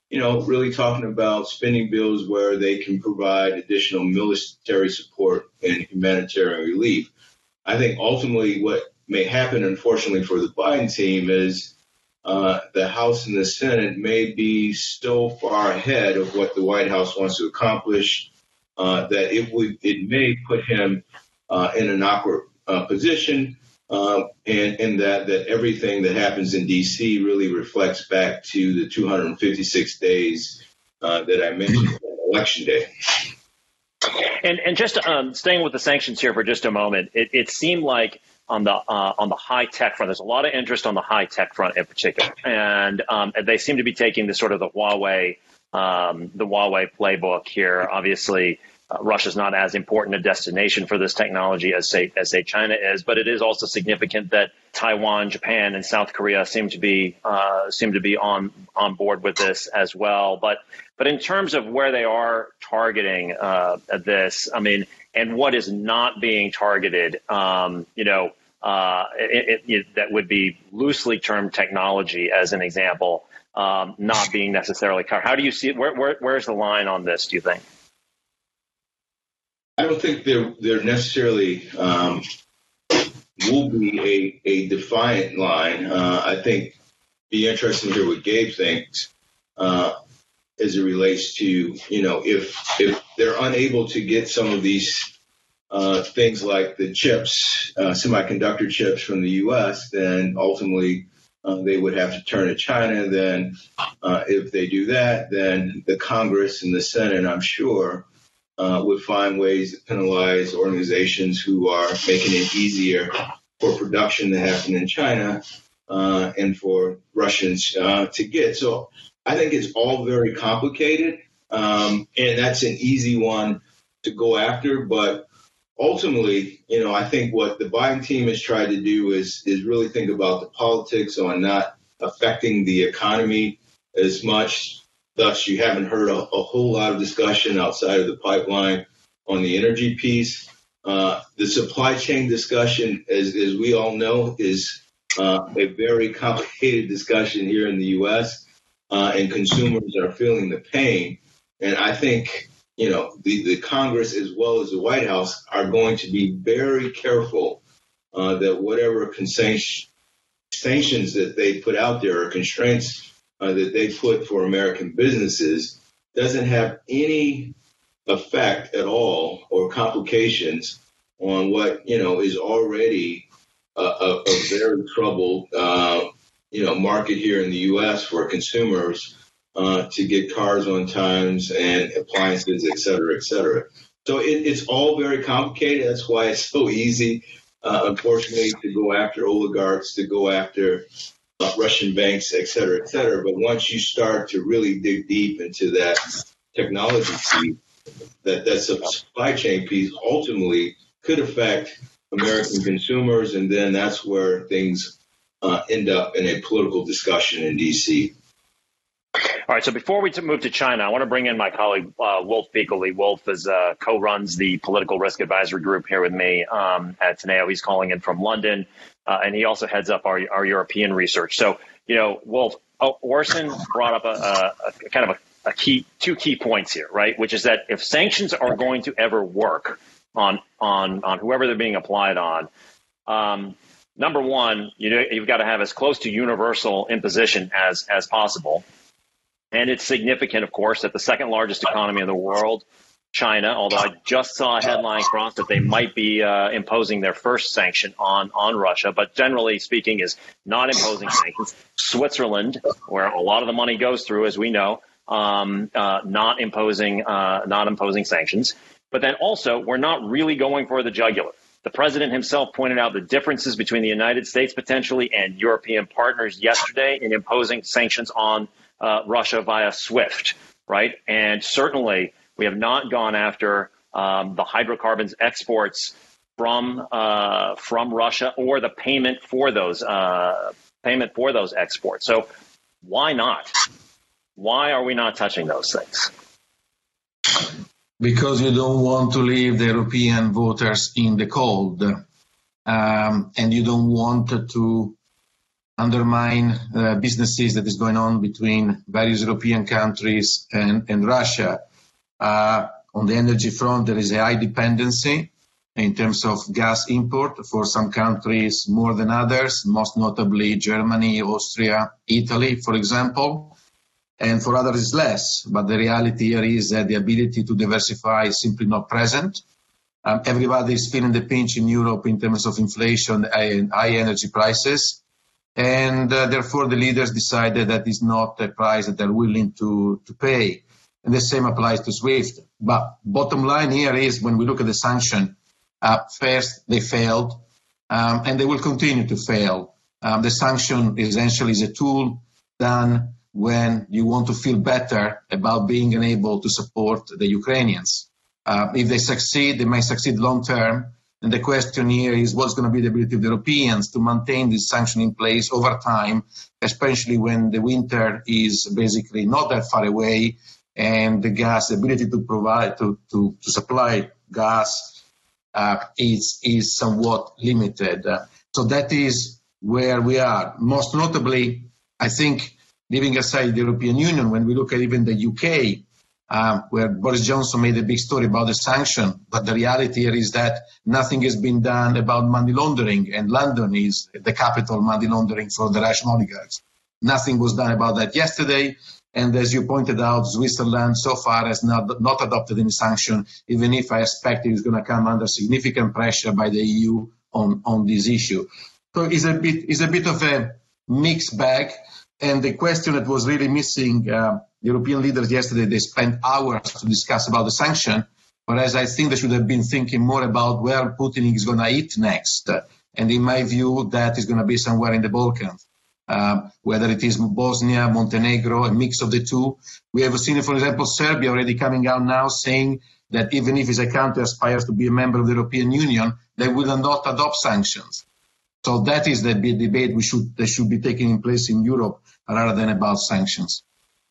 you know, really talking about spending bills where they can provide additional military support and humanitarian relief. I think ultimately what may happen, unfortunately, for the Biden team is uh, the House and the Senate may be so far ahead of what the White House wants to accomplish uh, that it would it may put him uh, in an awkward uh, position, uh, and, and that, that everything that happens in D C really reflects back to the two hundred fifty-six days uh, that I mentioned on Election Day. And and just um, staying with the sanctions here for just a moment, it, it seemed like on the uh, on the high tech front, there's a lot of interest on the high tech front in particular, and um, they seem to be taking the sort of the Huawei um, the Huawei playbook here. Obviously, uh, Russia's not as important a destination for this technology as say as say China is, but it is also significant that Taiwan, Japan, and South Korea seem to be uh, seem to be on on board with this as well. But but in terms of where they are targeting uh, this, I mean, and what is not being targeted, um, you know, uh, it, it, it, that would be loosely termed technology, as an example, um, not being necessarily covered. How do you see it? Where, where, where's the line on this, do you think? I don't think there there necessarily um, will be a, a defiant line. Uh, I think be interesting to hear what Gabe thinks uh, as it relates to, you know, if if they're unable to get some of these uh, things like the chips, uh, semiconductor chips from the U S, then ultimately uh, they would have to turn to China. Then uh, if they do that, then the Congress and the Senate, I'm sure, Uh, would find ways to penalize organizations who are making it easier for production to happen in China uh, and for Russians uh, to get. So I think it's all very complicated, um, and that's an easy one to go after. But ultimately, you know, I think what the Biden team has tried to do is is really think about the politics on not affecting the economy as much. Thus, you haven't heard a, a whole lot of discussion outside of the pipeline on the energy piece. Uh, the supply chain discussion, as, as we all know, is uh, a very complicated discussion here in the U S, uh, and consumers are feeling the pain. And I think, you know, the, the Congress as well as the White House are going to be very careful uh, that whatever sanctions that they put out there or constraints Uh, that they put for American businesses doesn't have any effect at all or complications on what, you know, is already a, a, a very troubled, uh, you know, market here in the U S for consumers uh, to get cars on times and appliances, et cetera, et cetera. So it, it's all very complicated. That's why it's so easy, uh, unfortunately, to go after oligarchs, to go after Uh, Russian banks, et cetera, et cetera. But once you start to really dig deep into that technology piece, that, that supply chain piece ultimately could affect American consumers. And then that's where things uh, end up in a political discussion in D C. All right. So before we move to China, I want to bring in my colleague, uh, Wolf Beakley. Wolf is uh, co-runs the political risk advisory group here with me um, at Teneo. He's calling in from London. Uh, and he also heads up our, our European research. So, you know, Wolf, oh, Orson brought up a, a, a kind of a, a key, two key points here, right? Which is that if sanctions are going to ever work on on on whoever they're being applied on, um, number one, you know, you've got to have as close to universal imposition as as possible. And it's significant, of course, that the second largest economy in the world, China, although I just saw a headline cross that they might be uh, imposing their first sanction on, on Russia, but generally speaking is not imposing sanctions. Switzerland, where a lot of the money goes through, as we know, um, uh, not imposing uh, not imposing sanctions. But then also, we're not really going for the jugular. The president himself pointed out the differences between the United States potentially and European partners yesterday in imposing sanctions on uh, Russia via SWIFT, right? And certainly, we have not gone after um, the hydrocarbons exports from uh, from Russia or the payment for those uh, payment for those exports. So why not? Why are we not touching those things? Because you don't want to leave the European voters in the cold, um, and you don't want to undermine uh, businesses that is going on between various European countries and, and Russia. Uh, on the energy front, there is a high dependency in terms of gas import for some countries more than others, most notably Germany, Austria, Italy, for example. And for others it's less. But the reality here is that the ability to diversify is simply not present. Um, everybody is feeling the pinch in Europe in terms of inflation and high energy prices. And uh, therefore the leaders decided that it's not a price that they're willing to, to pay. And the same applies to SWIFT. But bottom line here is when we look at the sanction, uh, first they failed, um, and they will continue to fail. Um, the sanction essentially is a tool done when you want to feel better about being unable to support the Ukrainians. Uh, if they succeed, they may succeed long term. And the question here is what's going to be the ability of the Europeans to maintain this sanction in place over time, especially when the winter is basically not that far away and the gas, the ability to provide, to, to, to supply gas uh, is, is somewhat limited. Uh, so that is where we are. Most notably, I think, leaving aside the European Union, when we look at even the U K, Um, where Boris Johnson made a big story about the sanction, but the reality here is that nothing has been done about money laundering, and London is the capital of money laundering for the Russian oligarchs. Nothing was done about that yesterday, and as you pointed out, Switzerland so far has not, not adopted any sanction, even if I expect it is going to come under significant pressure by the E U on, on this issue. So it's a bit, it's a bit of a mixed bag, and the question that was really missing, uh, European leaders yesterday, they spent hours to discuss about the sanction, whereas I think they should have been thinking more about where Putin is going to eat next. And in my view, that is going to be somewhere in the Balkans, uh, whether it is Bosnia, Montenegro, a mix of the two. We have seen, for example, Serbia already coming out now saying that even if it's a country aspires to be a member of the European Union, they will not adopt sanctions. So that is the big debate we should, that should be taking place in Europe rather than about sanctions.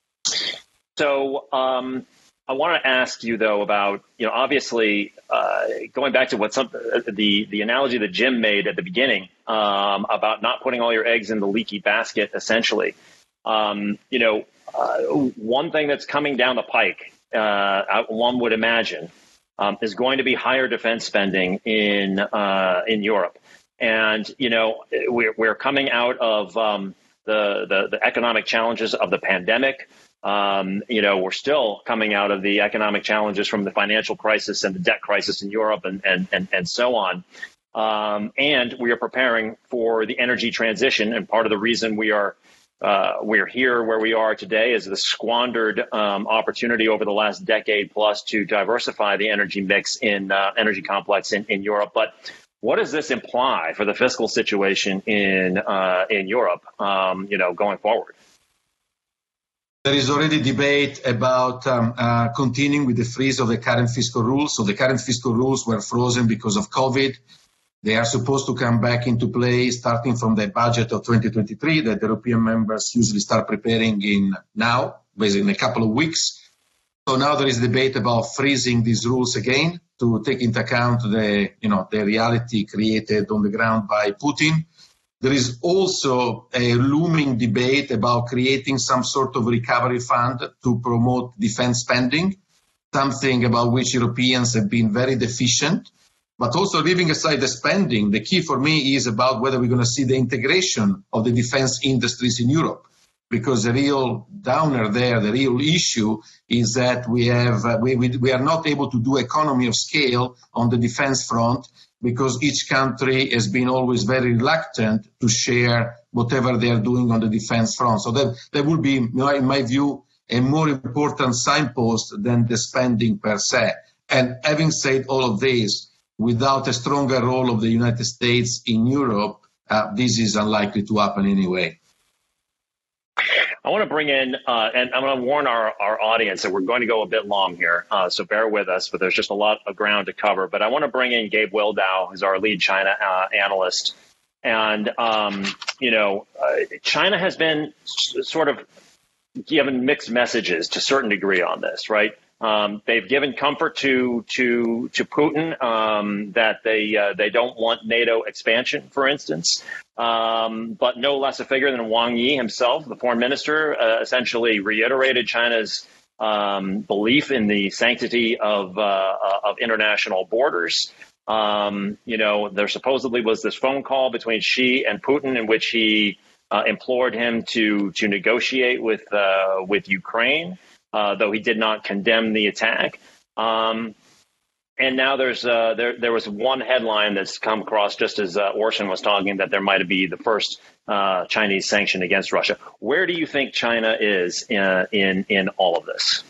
So um, I want to ask you, though, about, you know, obviously uh, going back to what some, the, the analogy that Jim made at the beginning um, about not putting all your eggs in the leaky basket, essentially. Um, you know, uh, one thing that's coming down the pike, uh, one would imagine, um, is going to be higher defense spending in uh, in Europe. And, you know, we're, we're coming out of um, the, the, the economic challenges of the pandemic. Um, you know, we're still coming out of the economic challenges from the financial crisis and the debt crisis in Europe and, and, and, and so on. Um, and we are preparing for the energy transition. And part of the reason we are uh, we're here where we are today is the squandered um, opportunity over the last decade plus to diversify the energy mix in uh, energy complex in, in Europe. But what does this imply for the fiscal situation in uh, in Europe, um, you know, going forward? There is already debate about um, uh, continuing with the freeze of the current fiscal rules. So the current fiscal rules were frozen because of COVID. They are supposed to come back into play starting from the budget of twenty twenty-three that the European members usually start preparing in now, basically in a couple of weeks. So now there is debate about freezing these rules again to take into account the, you know, the reality created on the ground by Putin. There is also a looming debate about creating some sort of recovery fund to promote defense spending, something about which Europeans have been very deficient. But also leaving aside the spending, the key for me is about whether we're going to see the integration of the defense industries in Europe. Because the real downer there, the real issue is that we have uh, we, we we are not able to do economy of scale on the defense front because each country has been always very reluctant to share whatever they are doing on the defense front. So that that would be, in my view, a more important signpost than the spending per se. And having said all of this, without a stronger role of the United States in Europe, uh, this is unlikely to happen anyway. I want to bring in, uh, and I'm going to warn our, our audience that we're going to go a bit long here, uh, so bear with us, but there's just a lot of ground to cover. But I want to bring in Gabe Wildow, who's our lead China uh, analyst. And, um, you know, uh, China has been s- sort of given mixed messages to a certain degree on this, right? Um, they've given comfort to to to Putin um, that they uh, they don't want NATO expansion, for instance. Um, but no less a figure than Wang Yi himself, the foreign minister, uh, essentially reiterated China's um, belief in the sanctity of uh, of international borders. Um, you know, there supposedly was this phone call between Xi and Putin in which he uh, implored him to to negotiate with uh, with Ukraine. Uh, though he did not condemn the attack. Um, and now there's uh, there there was one headline that's come across just as uh, Orson was talking, that there might be the first uh, Chinese sanction against Russia. Where do you think China is in in, in all of this?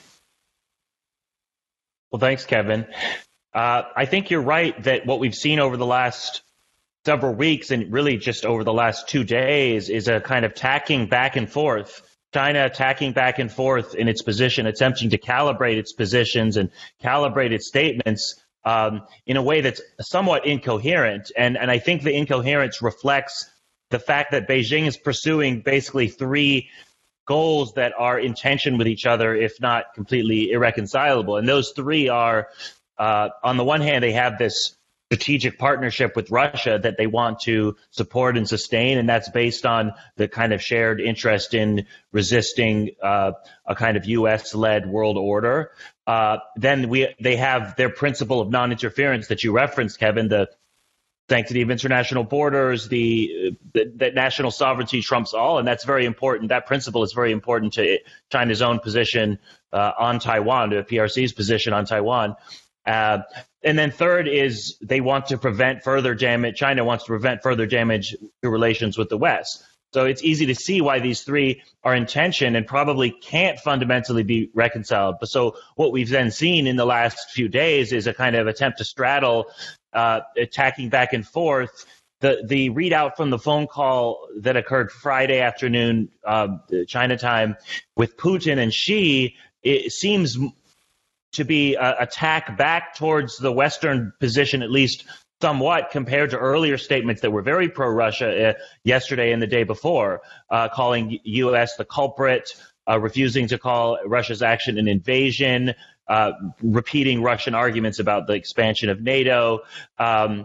Well, thanks, Kevin. Uh, I think you're right that what we've seen over the last several weeks and really just over the last two days is a kind of tacking back and forth. China attacking back and forth in its position, attempting to calibrate its positions and calibrate its statements um, in a way that's somewhat incoherent. And, and I think the incoherence reflects the fact that Beijing is pursuing basically three goals that are in tension with each other, if not completely irreconcilable. And those three are, uh, on the one hand, they have this strategic partnership with Russia that they want to support and sustain, and that's based on the kind of shared interest in resisting uh, a kind of U S-led world order. Uh, then we they have their principle of non-interference that you referenced, Kevin, the sanctity of international borders, the that national sovereignty trumps all, and that's very important. That principle is very important to China's own position uh, on Taiwan, to P R C's position on Taiwan. Uh, and then third is they want to prevent further damage. China wants to prevent further damage to relations with the West. So it's easy to see why these three are in tension and probably can't fundamentally be reconciled. But so what we've then seen in the last few days is a kind of attempt to straddle, uh, attacking back and forth. The the readout from the phone call that occurred Friday afternoon, uh, China time, with Putin and Xi, it seems to be an attack back towards the Western position, at least somewhat, compared to earlier statements that were very pro-Russia uh, yesterday and the day before, uh, calling U S the culprit, uh, refusing to call Russia's action an invasion, uh, repeating Russian arguments about the expansion of NATO. Um,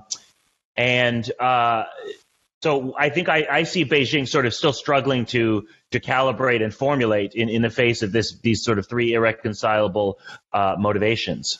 and uh, so I think I, I see Beijing sort of still struggling to to calibrate and formulate in, in the face of this these sort of three irreconcilable uh, motivations.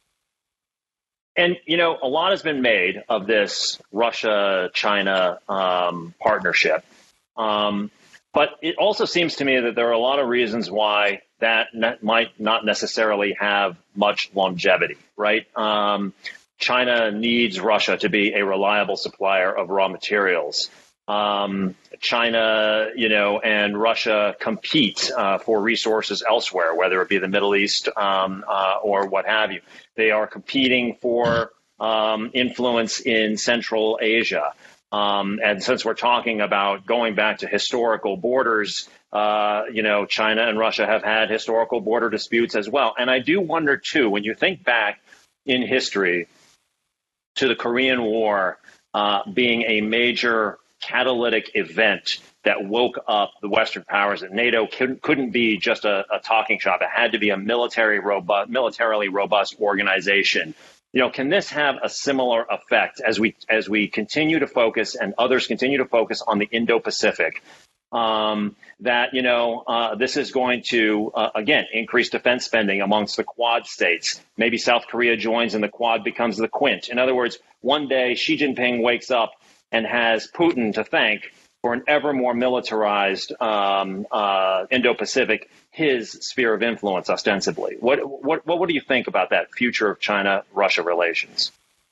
And, you know, a lot has been made of this Russia-China um, partnership. Um, but it also seems to me that there are a lot of reasons why that ne- might not necessarily have much longevity, right? Um, China needs Russia to be a reliable supplier of raw materials. Um, China, you know, and Russia compete uh, for resources elsewhere, whether it be the Middle East um, uh, or what have you. They are competing for um, influence in Central Asia. Um, and since we're talking about going back to historical borders, uh, you know, China and Russia have had historical border disputes as well. And I do wonder, too, when you think back in history to the Korean War uh, being a major catalytic event that woke up the Western powers, that NATO couldn't, couldn't be just a, a talking shop. It had to be a military robust, militarily robust organization. You know, can this have a similar effect as we as we continue to focus and others continue to focus on the Indo-Pacific? Um, that, you know, uh, this is going to, uh, again, increase defense spending amongst the Quad states. Maybe South Korea joins and the Quad becomes the Quint. In other words, one day Xi Jinping wakes up and has Putin to thank for an ever more militarized um, uh, Indo-Pacific, his sphere of influence, ostensibly. What, what what what do you think about that future of China-Russia relations?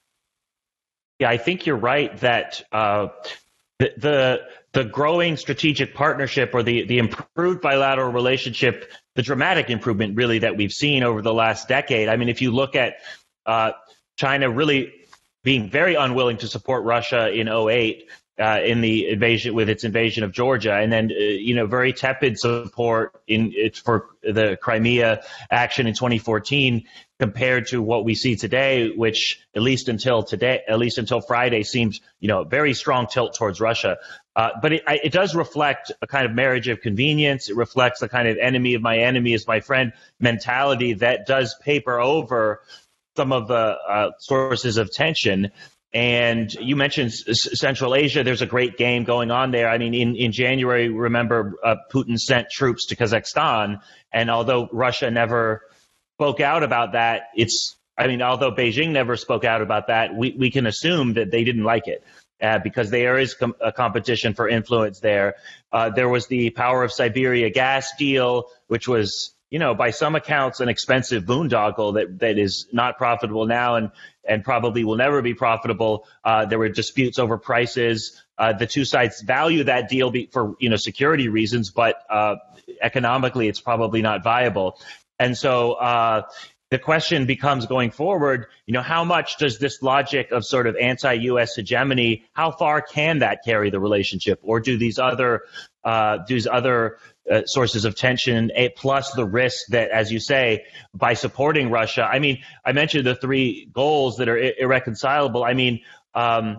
Yeah, I think you're right that uh, the, the the growing strategic partnership or the the improved bilateral relationship, the dramatic improvement really that we've seen over the last decade. I mean, if you look at uh, China really being very unwilling to support Russia in oh eight uh, in the invasion with its invasion of Georgia, and then uh, you know very tepid support in it for the Crimea action in twenty fourteen compared to what we see today, which at least until today, at least until Friday, seems you know very strong tilt towards Russia. Uh, but it, it does reflect a kind of marriage of convenience. It reflects a kind of enemy of my enemy is my friend mentality that does paper over some of the uh, sources of tension. And you mentioned S- Central Asia. There's a great game going on there. I mean, in, in January, remember, uh, Putin sent troops to Kazakhstan. And although Russia never spoke out about that, it's, I mean, although Beijing never spoke out about that, we, we can assume that they didn't like it. Uh, because there is com- a competition for influence there. Uh, there was the Power of Siberia gas deal, which was, you know, by some accounts, an expensive boondoggle that, that is not profitable now and, and probably will never be profitable. Uh, there were disputes over prices. Uh, the two sides value that deal be, for, you know, security reasons, but uh, economically, it's probably not viable. And so uh, the question becomes going forward, you know, how much does this logic of sort of anti-U S hegemony, how far can that carry the relationship? Or do these other uh, these other uh, sources of tension, a, plus the risk that, as you say, by supporting Russia, I mean, I mentioned the three goals that are ir- irreconcilable. I mean, um,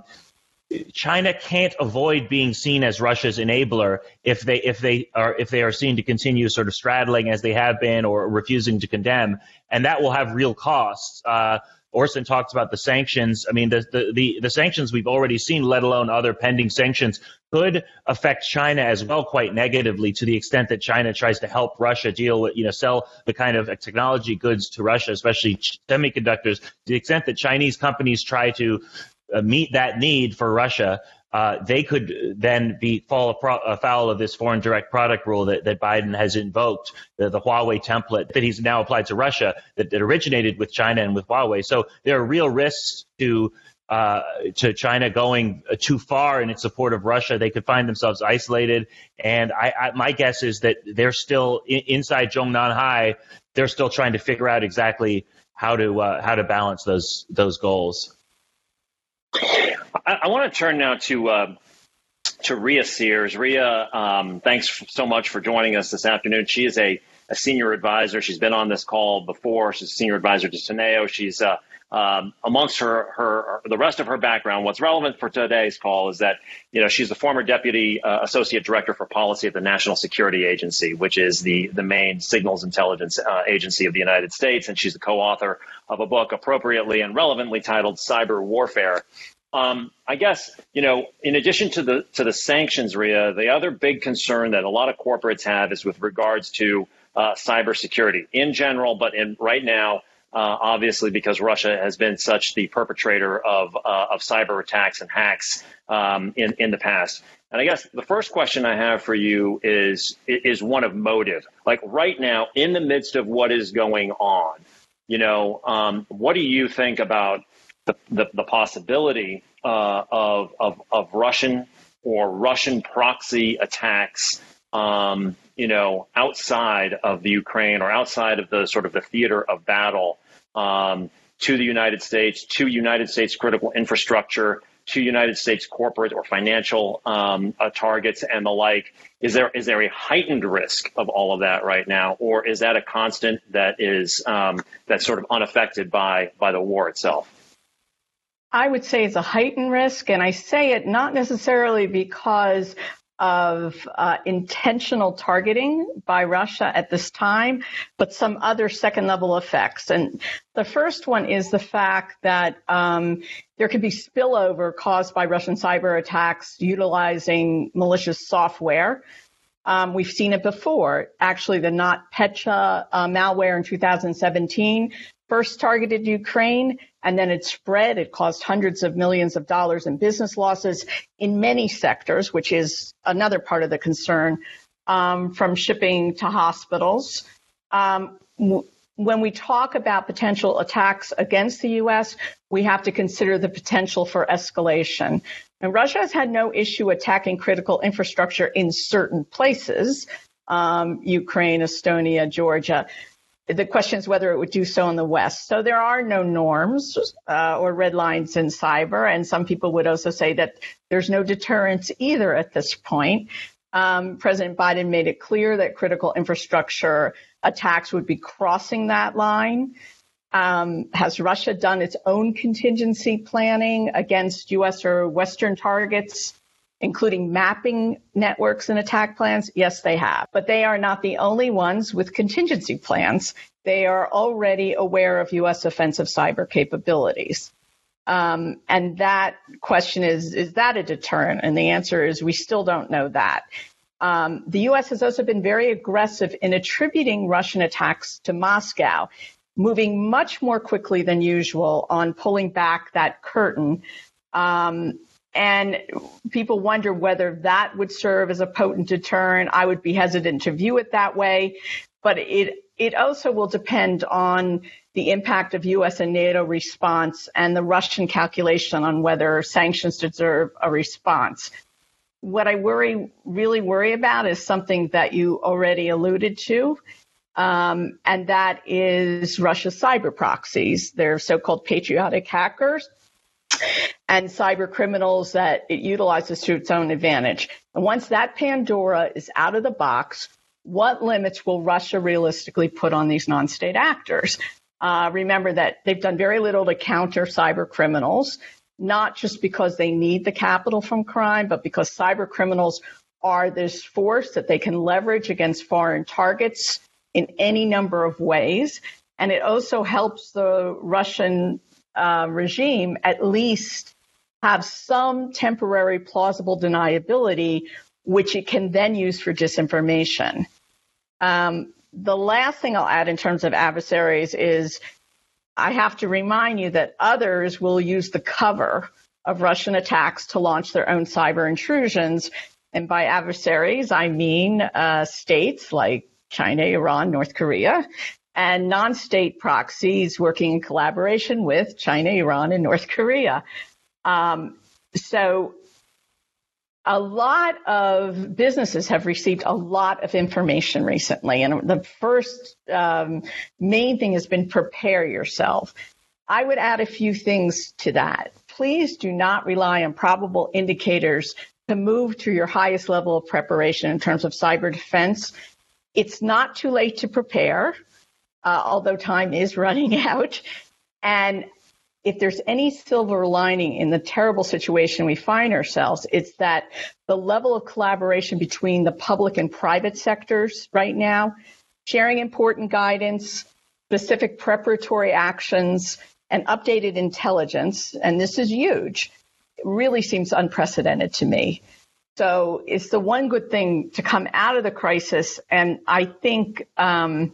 China can't avoid being seen as Russia's enabler if they if they are if they are seen to continue sort of straddling as they have been or refusing to condemn, and that will have real costs. Uh, Orson talks about the sanctions. I mean, the, the the the sanctions we've already seen, let alone other pending sanctions, could affect China as well quite negatively to the extent that China tries to help Russia deal with, you know, sell the kind of technology goods to Russia, especially semiconductors. To the extent that Chinese companies try to Uh, meet that need for Russia, uh, they could then be fall afoul of this foreign direct product rule that, that Biden has invoked, the, the Huawei template that he's now applied to Russia that, that originated with China and with Huawei. So there are real risks to uh, to China going too far in its support of Russia. They could find themselves isolated. And I, I, my guess is that they're still in, inside Zhongnanhai. They're still trying to figure out exactly how to uh, how to balance those those goals. I, I want to turn now to uh, to Ria Sears. Ria, um, thanks so much for joining us this afternoon. She is a, a senior advisor. She's been on this call before. She's a senior advisor to Teneo. She's uh, um, amongst her, her the rest of her background. What's relevant for today's call is that, you know, she's the former deputy uh, associate director for policy at the National Security Agency, which is the the main signals intelligence uh, agency of the United States, and she's the co-author of a book appropriately and relevantly titled Cyber Warfare. Um, I guess, you know, in addition to the to the sanctions, Ria, the other big concern that a lot of corporates have is with regards to uh, cybersecurity in general, but in right now, uh, obviously, because Russia has been such the perpetrator of uh, of cyber attacks and hacks um, in in the past. And I guess the first question I have for you is is one of motive. Like right now, in the midst of what is going on, you know, um, what do you think about The, the, the possibility uh, of, of of Russian or Russian proxy attacks, um, you know, outside of the Ukraine or outside of the sort of the theater of battle um, to the United States, to United States critical infrastructure, to United States corporate or financial um, uh, targets and the like? Is there is there a heightened risk of all of that right now, or is that a constant that is um, that's sort of unaffected by by the war itself? I would say it's a heightened risk, and I say it not necessarily because of uh, intentional targeting by Russia at this time, but some other second-level effects. And the first one is the fact that um, there could be spillover caused by Russian cyber attacks utilizing malicious software. Um, we've seen it before. Actually, the NotPetya uh, malware in two thousand seventeen first targeted Ukraine, and then it spread. It caused hundreds of millions of dollars in business losses in many sectors, which is another part of the concern, um, from shipping to hospitals. Um, w- when we talk about potential attacks against the U S, we have to consider the potential for escalation. And Russia has had no issue attacking critical infrastructure in certain places, um, Ukraine, Estonia, Georgia. The question is whether it would do so in the West. So there are no norms uh, or red lines in cyber. And some people would also say that there's no deterrence either at this point. Um, President Biden made it clear that critical infrastructure attacks would be crossing that line. Um, has Russia done its own contingency planning against U S or Western targets? including mapping networks and attack plans? Yes, they have. But they are not the only ones with contingency plans. They are already aware of U S offensive cyber capabilities. Um, and that question is, is that a deterrent? And the answer is we still don't know that. Um, the U S has also been very aggressive in attributing Russian attacks to Moscow, moving much more quickly than usual on pulling back that curtain. Um, and people wonder whether that would serve as a potent deterrent. I would be hesitant to view it that way, but it it also will depend on the impact of U S and NATO response and the Russian calculation on whether sanctions deserve a response. What I worry, really worry about is something that you already alluded to, um, and that is Russia's cyber proxies. They're so-called patriotic hackers and cyber criminals that it utilizes to its own advantage. And once that Pandora is out of the box, what limits will Russia realistically put on these non-state actors? Uh, remember that they've done very little to counter cyber criminals, not just because they need the capital from crime, but because cyber criminals are this force that they can leverage against foreign targets in any number of ways. And it also helps the Russian uh, regime at least have some temporary plausible deniability, which it can then use for disinformation. Um, the last thing I'll add in terms of adversaries is I have to remind you that others will use the cover of Russian attacks to launch their own cyber intrusions. And by adversaries, I mean uh, states like China, Iran, North Korea, and non-state proxies working in collaboration with China, Iran, and North Korea. Um, so a lot of businesses have received a lot of information recently. And the first um, main thing has been prepare yourself. I would add a few things to that. Please do not rely on probable indicators to move to your highest level of preparation in terms of cyber defense. It's not too late to prepare, uh, although time is running out. And if there's any silver lining in the terrible situation we find ourselves, it's that the level of collaboration between the public and private sectors right now, sharing important guidance, specific preparatory actions, and updated intelligence, and this is huge, it really seems unprecedented to me. So it's the one good thing to come out of the crisis, and I think um,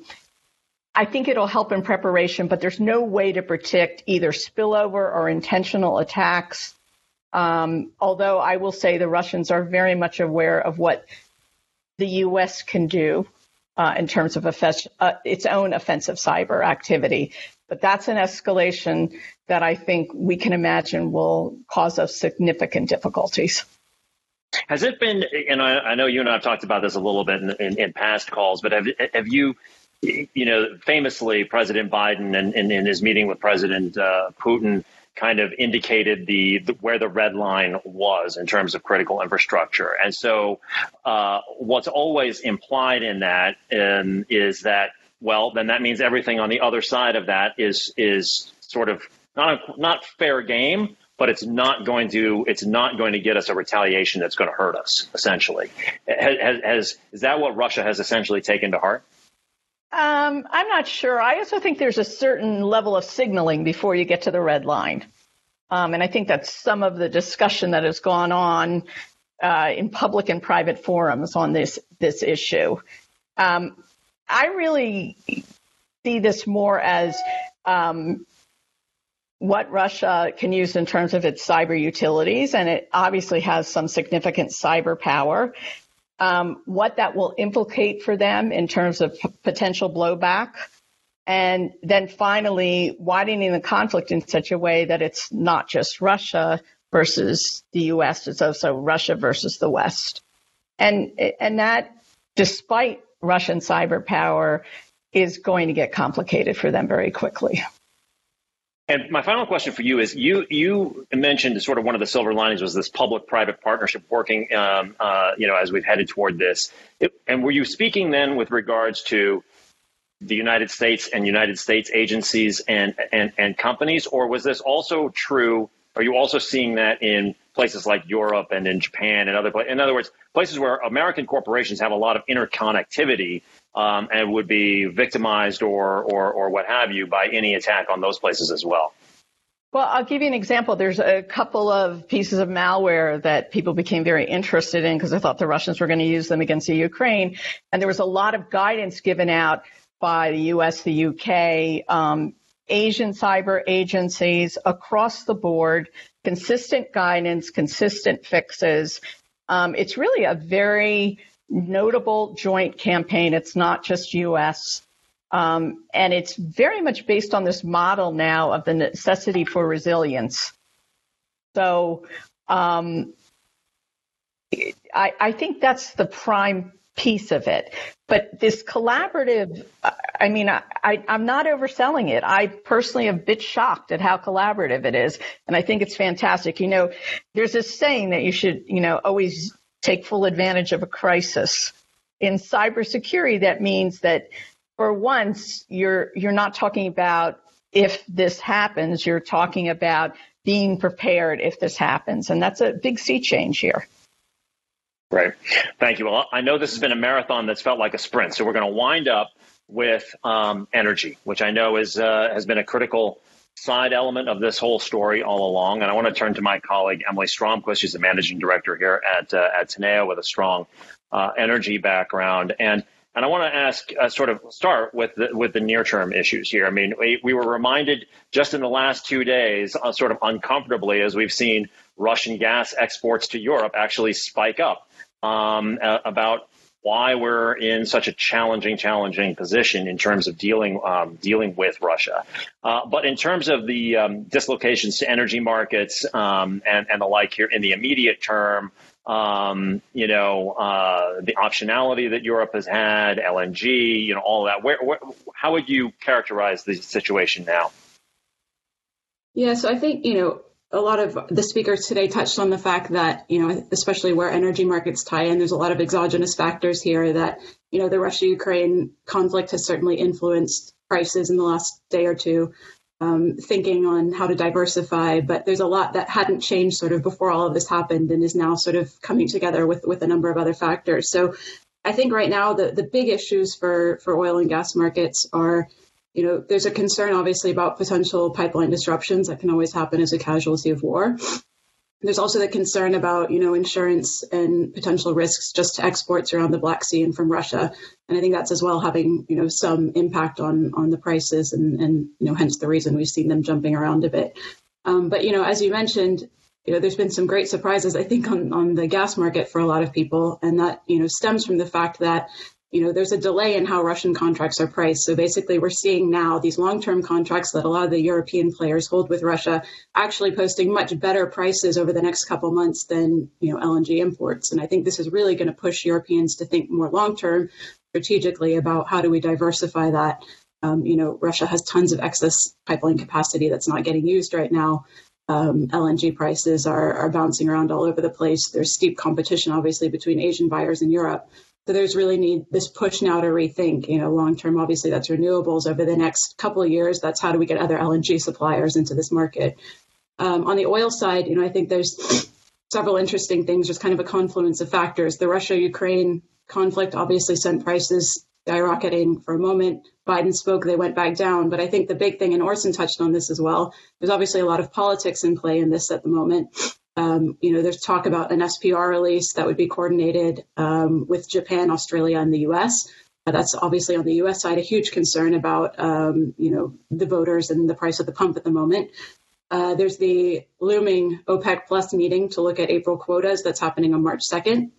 I think it'll help in preparation, but there's no way to predict either spillover or intentional attacks. Um, although I will say the Russians are very much aware of what the U S can do uh, in terms of offes- uh, its own offensive cyber activity. But that's an escalation that I think we can imagine will cause us significant difficulties. Has it been, and I, I know you and I have talked about this a little bit in, in, in past calls, but have, have you, you know, famously President Biden and in, in, in his meeting with President uh, Putin kind of indicated the, the where the red line was in terms of critical infrastructure. And so uh, what's always implied in that um, is that, well, then that means everything on the other side of that is is sort of not a, not fair game, but it's not going to it's not going to get us a retaliation that's going to hurt us, essentially. Has, has, is that what Russia has essentially taken to heart? Um, I'm not sure. I also think there's a certain level of signaling before you get to the red line. Um, and I think that's some of the discussion that has gone on uh, in public and private forums on this, this issue. Um, I really see this more as um, what Russia can use in terms of its cyber utilities, and it obviously has some significant cyber power. Um, what that will implicate for them in terms of p- potential blowback, and then finally widening the conflict in such a way that it's not just Russia versus the U S, it's also Russia versus the West. And, and that, despite Russian cyber power, is going to get complicated for them very quickly. And my final question for you is, you you mentioned sort of one of the silver linings was this public-private partnership working, um, uh, you know, as we've headed toward this. It, and were you speaking then with regards to the United States and United States agencies and, and, and companies, or was this also true Are you also seeing that in places like Europe and in Japan and other places? In other words, places where American corporations have a lot of interconnectivity um, and would be victimized or, or or what have you by any attack on those places as well? Well, I'll give you an example. There's a couple of pieces of malware that people became very interested in because they thought the Russians were going to use them against the Ukraine. And there was a lot of guidance given out by the U S, the U K, um, Asian cyber agencies across the board, consistent guidance, consistent fixes. Um, it's really a very notable joint campaign. It's not just U S. Um, and it's very much based on this model now of the necessity for resilience. So um, I, I think that's the prime piece of it. But this collaborative, I mean, I, I, I'm not overselling it. I personally am a bit shocked at how collaborative it is. And I think it's fantastic. You know, there's this saying that you should, you know, always take full advantage of a crisis. In cybersecurity, that means that for once, you're you're not talking about if this happens, you're talking about being prepared if this happens. And that's a big sea change here. Right. Thank you. Well, I know this has been a marathon that's felt like a sprint. So we're going to wind up with um, energy, which I know is uh, has been a critical side element of this whole story all along. And I want to turn to my colleague, Emily Stromquist. She's the managing director here at uh, at Teneo with a strong uh, energy background. And And I want to ask, uh, sort of start with the, with the near term issues here. I mean, we, we were reminded just in the last two days, uh, sort of uncomfortably, as we've seen Russian gas exports to Europe actually spike up um, uh, about why we're in such a challenging, challenging position in terms of dealing um, dealing with Russia. Uh, but in terms of the um, dislocations to energy markets um, and, and the like here in the immediate term, Um, you know, uh, the optionality that Europe has had, L N G, you know, all of that. Where, where, how would you characterize the situation now? Yeah, so I think, you know, a lot of the speakers today touched on the fact that, you know, especially where energy markets tie in, there's a lot of exogenous factors here that, you know, the Russia-Ukraine conflict has certainly influenced prices in the last day or two. Um, thinking on how to diversify, but there's a lot that hadn't changed sort of before all of this happened and is now sort of coming together with, with a number of other factors. So I think right now the, the big issues for, for oil and gas markets are, you know, there's a concern obviously about potential pipeline disruptions that can always happen as a casualty of war. There's also the concern about, you know, insurance and potential risks just to exports around the Black Sea and from Russia. And I think that's as well having, you know, some impact on on the prices and, and you know, hence the reason we've seen them jumping around a bit. Um, but, you know, as you mentioned, you know, there's been some great surprises, I think, on, on the gas market for a lot of people. And that, you know, stems from the fact that, you know, there's a delay in how Russian contracts are priced. So basically, we're seeing now these long-term contracts that a lot of the European players hold with Russia actually posting much better prices over the next couple months than, you know, L N G imports. And I think this is really going to push Europeans to think more long-term strategically about how do we diversify that. Um, you know, Russia has tons of excess pipeline capacity that's not getting used right now. Um, L N G prices are, are bouncing around all over the place. There's steep competition, obviously, between Asian buyers in Europe. So there's really need this push now to rethink, you know, long term, obviously that's renewables over the next couple of years. That's how do we get other L N G suppliers into this market? Um, on the oil side, you know, I think there's several interesting things. There's kind of a confluence of factors. The Russia-Ukraine conflict obviously sent prices skyrocketing for a moment. Biden spoke, they went back down. But I think the big thing, and Orson touched on this as well, there's obviously a lot of politics in play in this at the moment. Um, you know, there's talk about an S P R release that would be coordinated um, with Japan, Australia, and the U S. Uh, that's obviously on the U S side a huge concern about, um, you know, the voters and the price at the pump at the moment. Uh, there's the looming OPEC Plus meeting to look at April quotas that's happening on March second.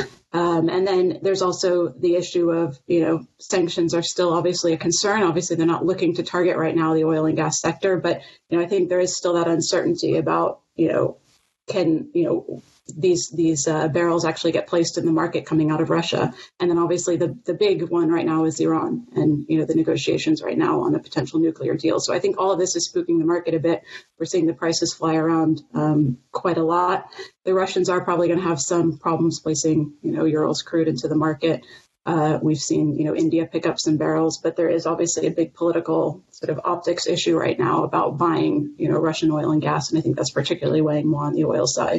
Um, and then there's also the issue of, you know, sanctions are still obviously a concern. Obviously, they're not looking to target right now the oil and gas sector. But, you know, I think there is still that uncertainty about, you know, can, you know, these these uh, barrels actually get placed in the market coming out of Russia? And then obviously the, the big one right now is Iran and, you know, the negotiations right now on a potential nuclear deal. So I think all of this is spooking the market a bit. We're seeing the prices fly around um, quite a lot. The Russians are probably going to have some problems placing, you know, Urals crude into the market. Uh, we've seen, you know, India pick up some barrels, but there is obviously a big political sort of optics issue right now about buying, you know, Russian oil and gas. And I think that's particularly weighing more on the oil side.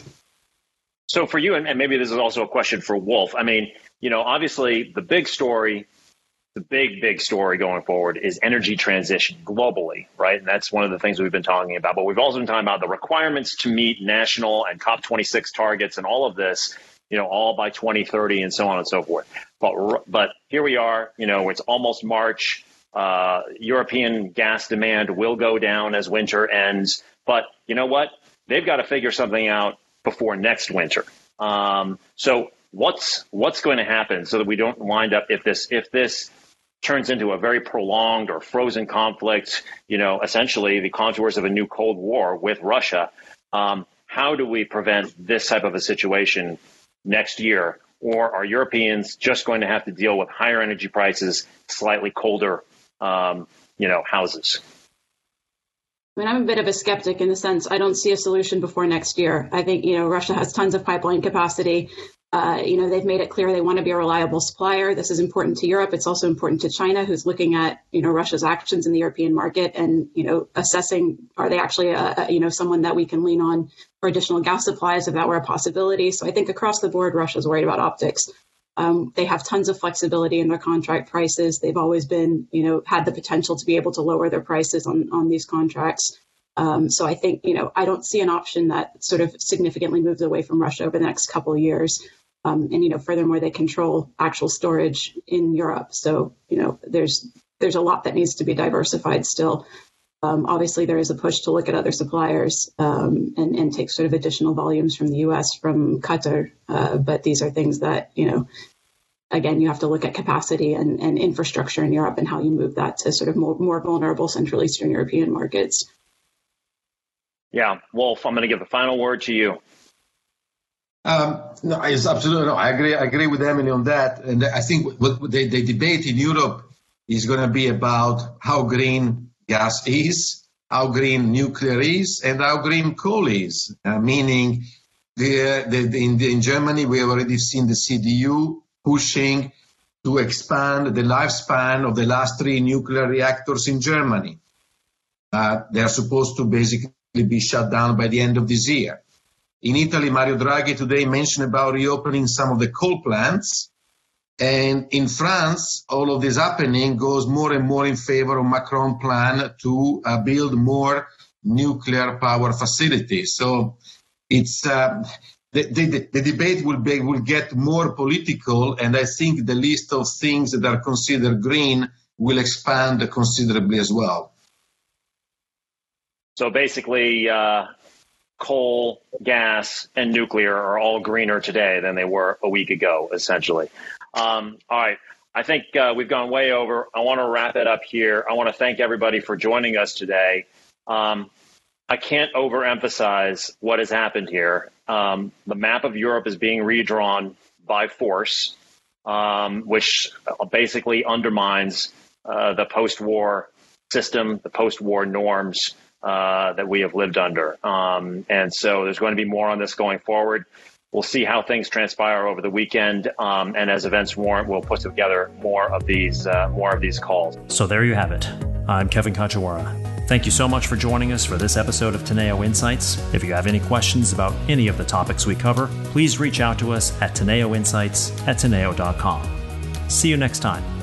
So for you, and, and maybe this is also a question for Wolf, I mean, you know, obviously the big story, the big, big story going forward is energy transition globally, right? And that's one of the things we've been talking about. But we've also been talking about the requirements to meet national and COP twenty-six targets and all of this, you know, all by twenty thirty and so on and so forth. But but here we are, you know, it's almost March. Uh, European gas demand will go down as winter ends. But you know what? They've got to figure something out before next winter. Um, so what's what's going to happen so that we don't wind up if this if this turns into a very prolonged or frozen conflict, you know, essentially the contours of a new Cold War with Russia. Um, how do we prevent this type of a situation next year? Or are Europeans just going to have to deal with higher energy prices, slightly colder, um, you know, houses? I mean, I'm a bit of a skeptic in the sense I don't see a solution before next year. I think, you know, Russia has tons of pipeline capacity. Uh, you know, they've made it clear they want to be a reliable supplier. This is important to Europe. It's also important to China, who's looking at, you know, Russia's actions in the European market and, you know, assessing, are they actually, a, a, you know, someone that we can lean on for additional gas supplies if that were a possibility. So I think across the board, Russia's worried about optics. Um, they have tons of flexibility in their contract prices. They've always been, you know, had the potential to be able to lower their prices on, on these contracts. Um, so I think, you know, I don't see an option that sort of significantly moves away from Russia over the next couple of years. Um, and, you know, furthermore, they control actual storage in Europe. So, you know, there's there's a lot that needs to be diversified still. Um, obviously, there is a push to look at other suppliers um, and, and take sort of additional volumes from the U S, from Qatar. Uh, but these are things that, you know, again, you have to look at capacity and, and infrastructure in Europe and how you move that to sort of more, more vulnerable Central Eastern European markets. Yeah. Wolf, I'm going to give the final word to you. Um, no, it's absolutely no. I agree. I agree with Emily on that, and I think what the, the debate in Europe is going to be about how green gas is, how green nuclear is, and how green coal is. Uh, meaning, the, the, the, in, the, in Germany, we have already seen the C D U pushing to expand the lifespan of the last three nuclear reactors in Germany. Uh, they are supposed to basically be shut down by the end of this year. In Italy, Mario Draghi today mentioned about reopening some of the coal plants. And in France, all of this happening goes more and more in favor of Macron's plan to uh, build more nuclear power facilities. So it's uh, the, the, the debate will be, will get more political, and I think the list of things that are considered green will expand considerably as well. So basically, uh coal, gas, and nuclear are all greener today than they were a week ago, essentially. Um, all right. I think uh, we've gone way over. I want to wrap it up here. I want to thank everybody for joining us today. Um, I can't overemphasize what has happened here. Um, the map of Europe is being redrawn by force, um, which basically undermines uh, the post-war system, the post-war norms Uh, that we have lived under. Um, and so there's going to be more on this going forward. We'll see how things transpire over the weekend. Um, and as events warrant, we'll put together more of these, uh, more of these calls. So there you have it. I'm Kevin Kajiwara. Thank you so much for joining us for this episode of Teneo Insights. If you have any questions about any of the topics we cover, please reach out to us at Teneo Insights at Teneo dot com. See you next time.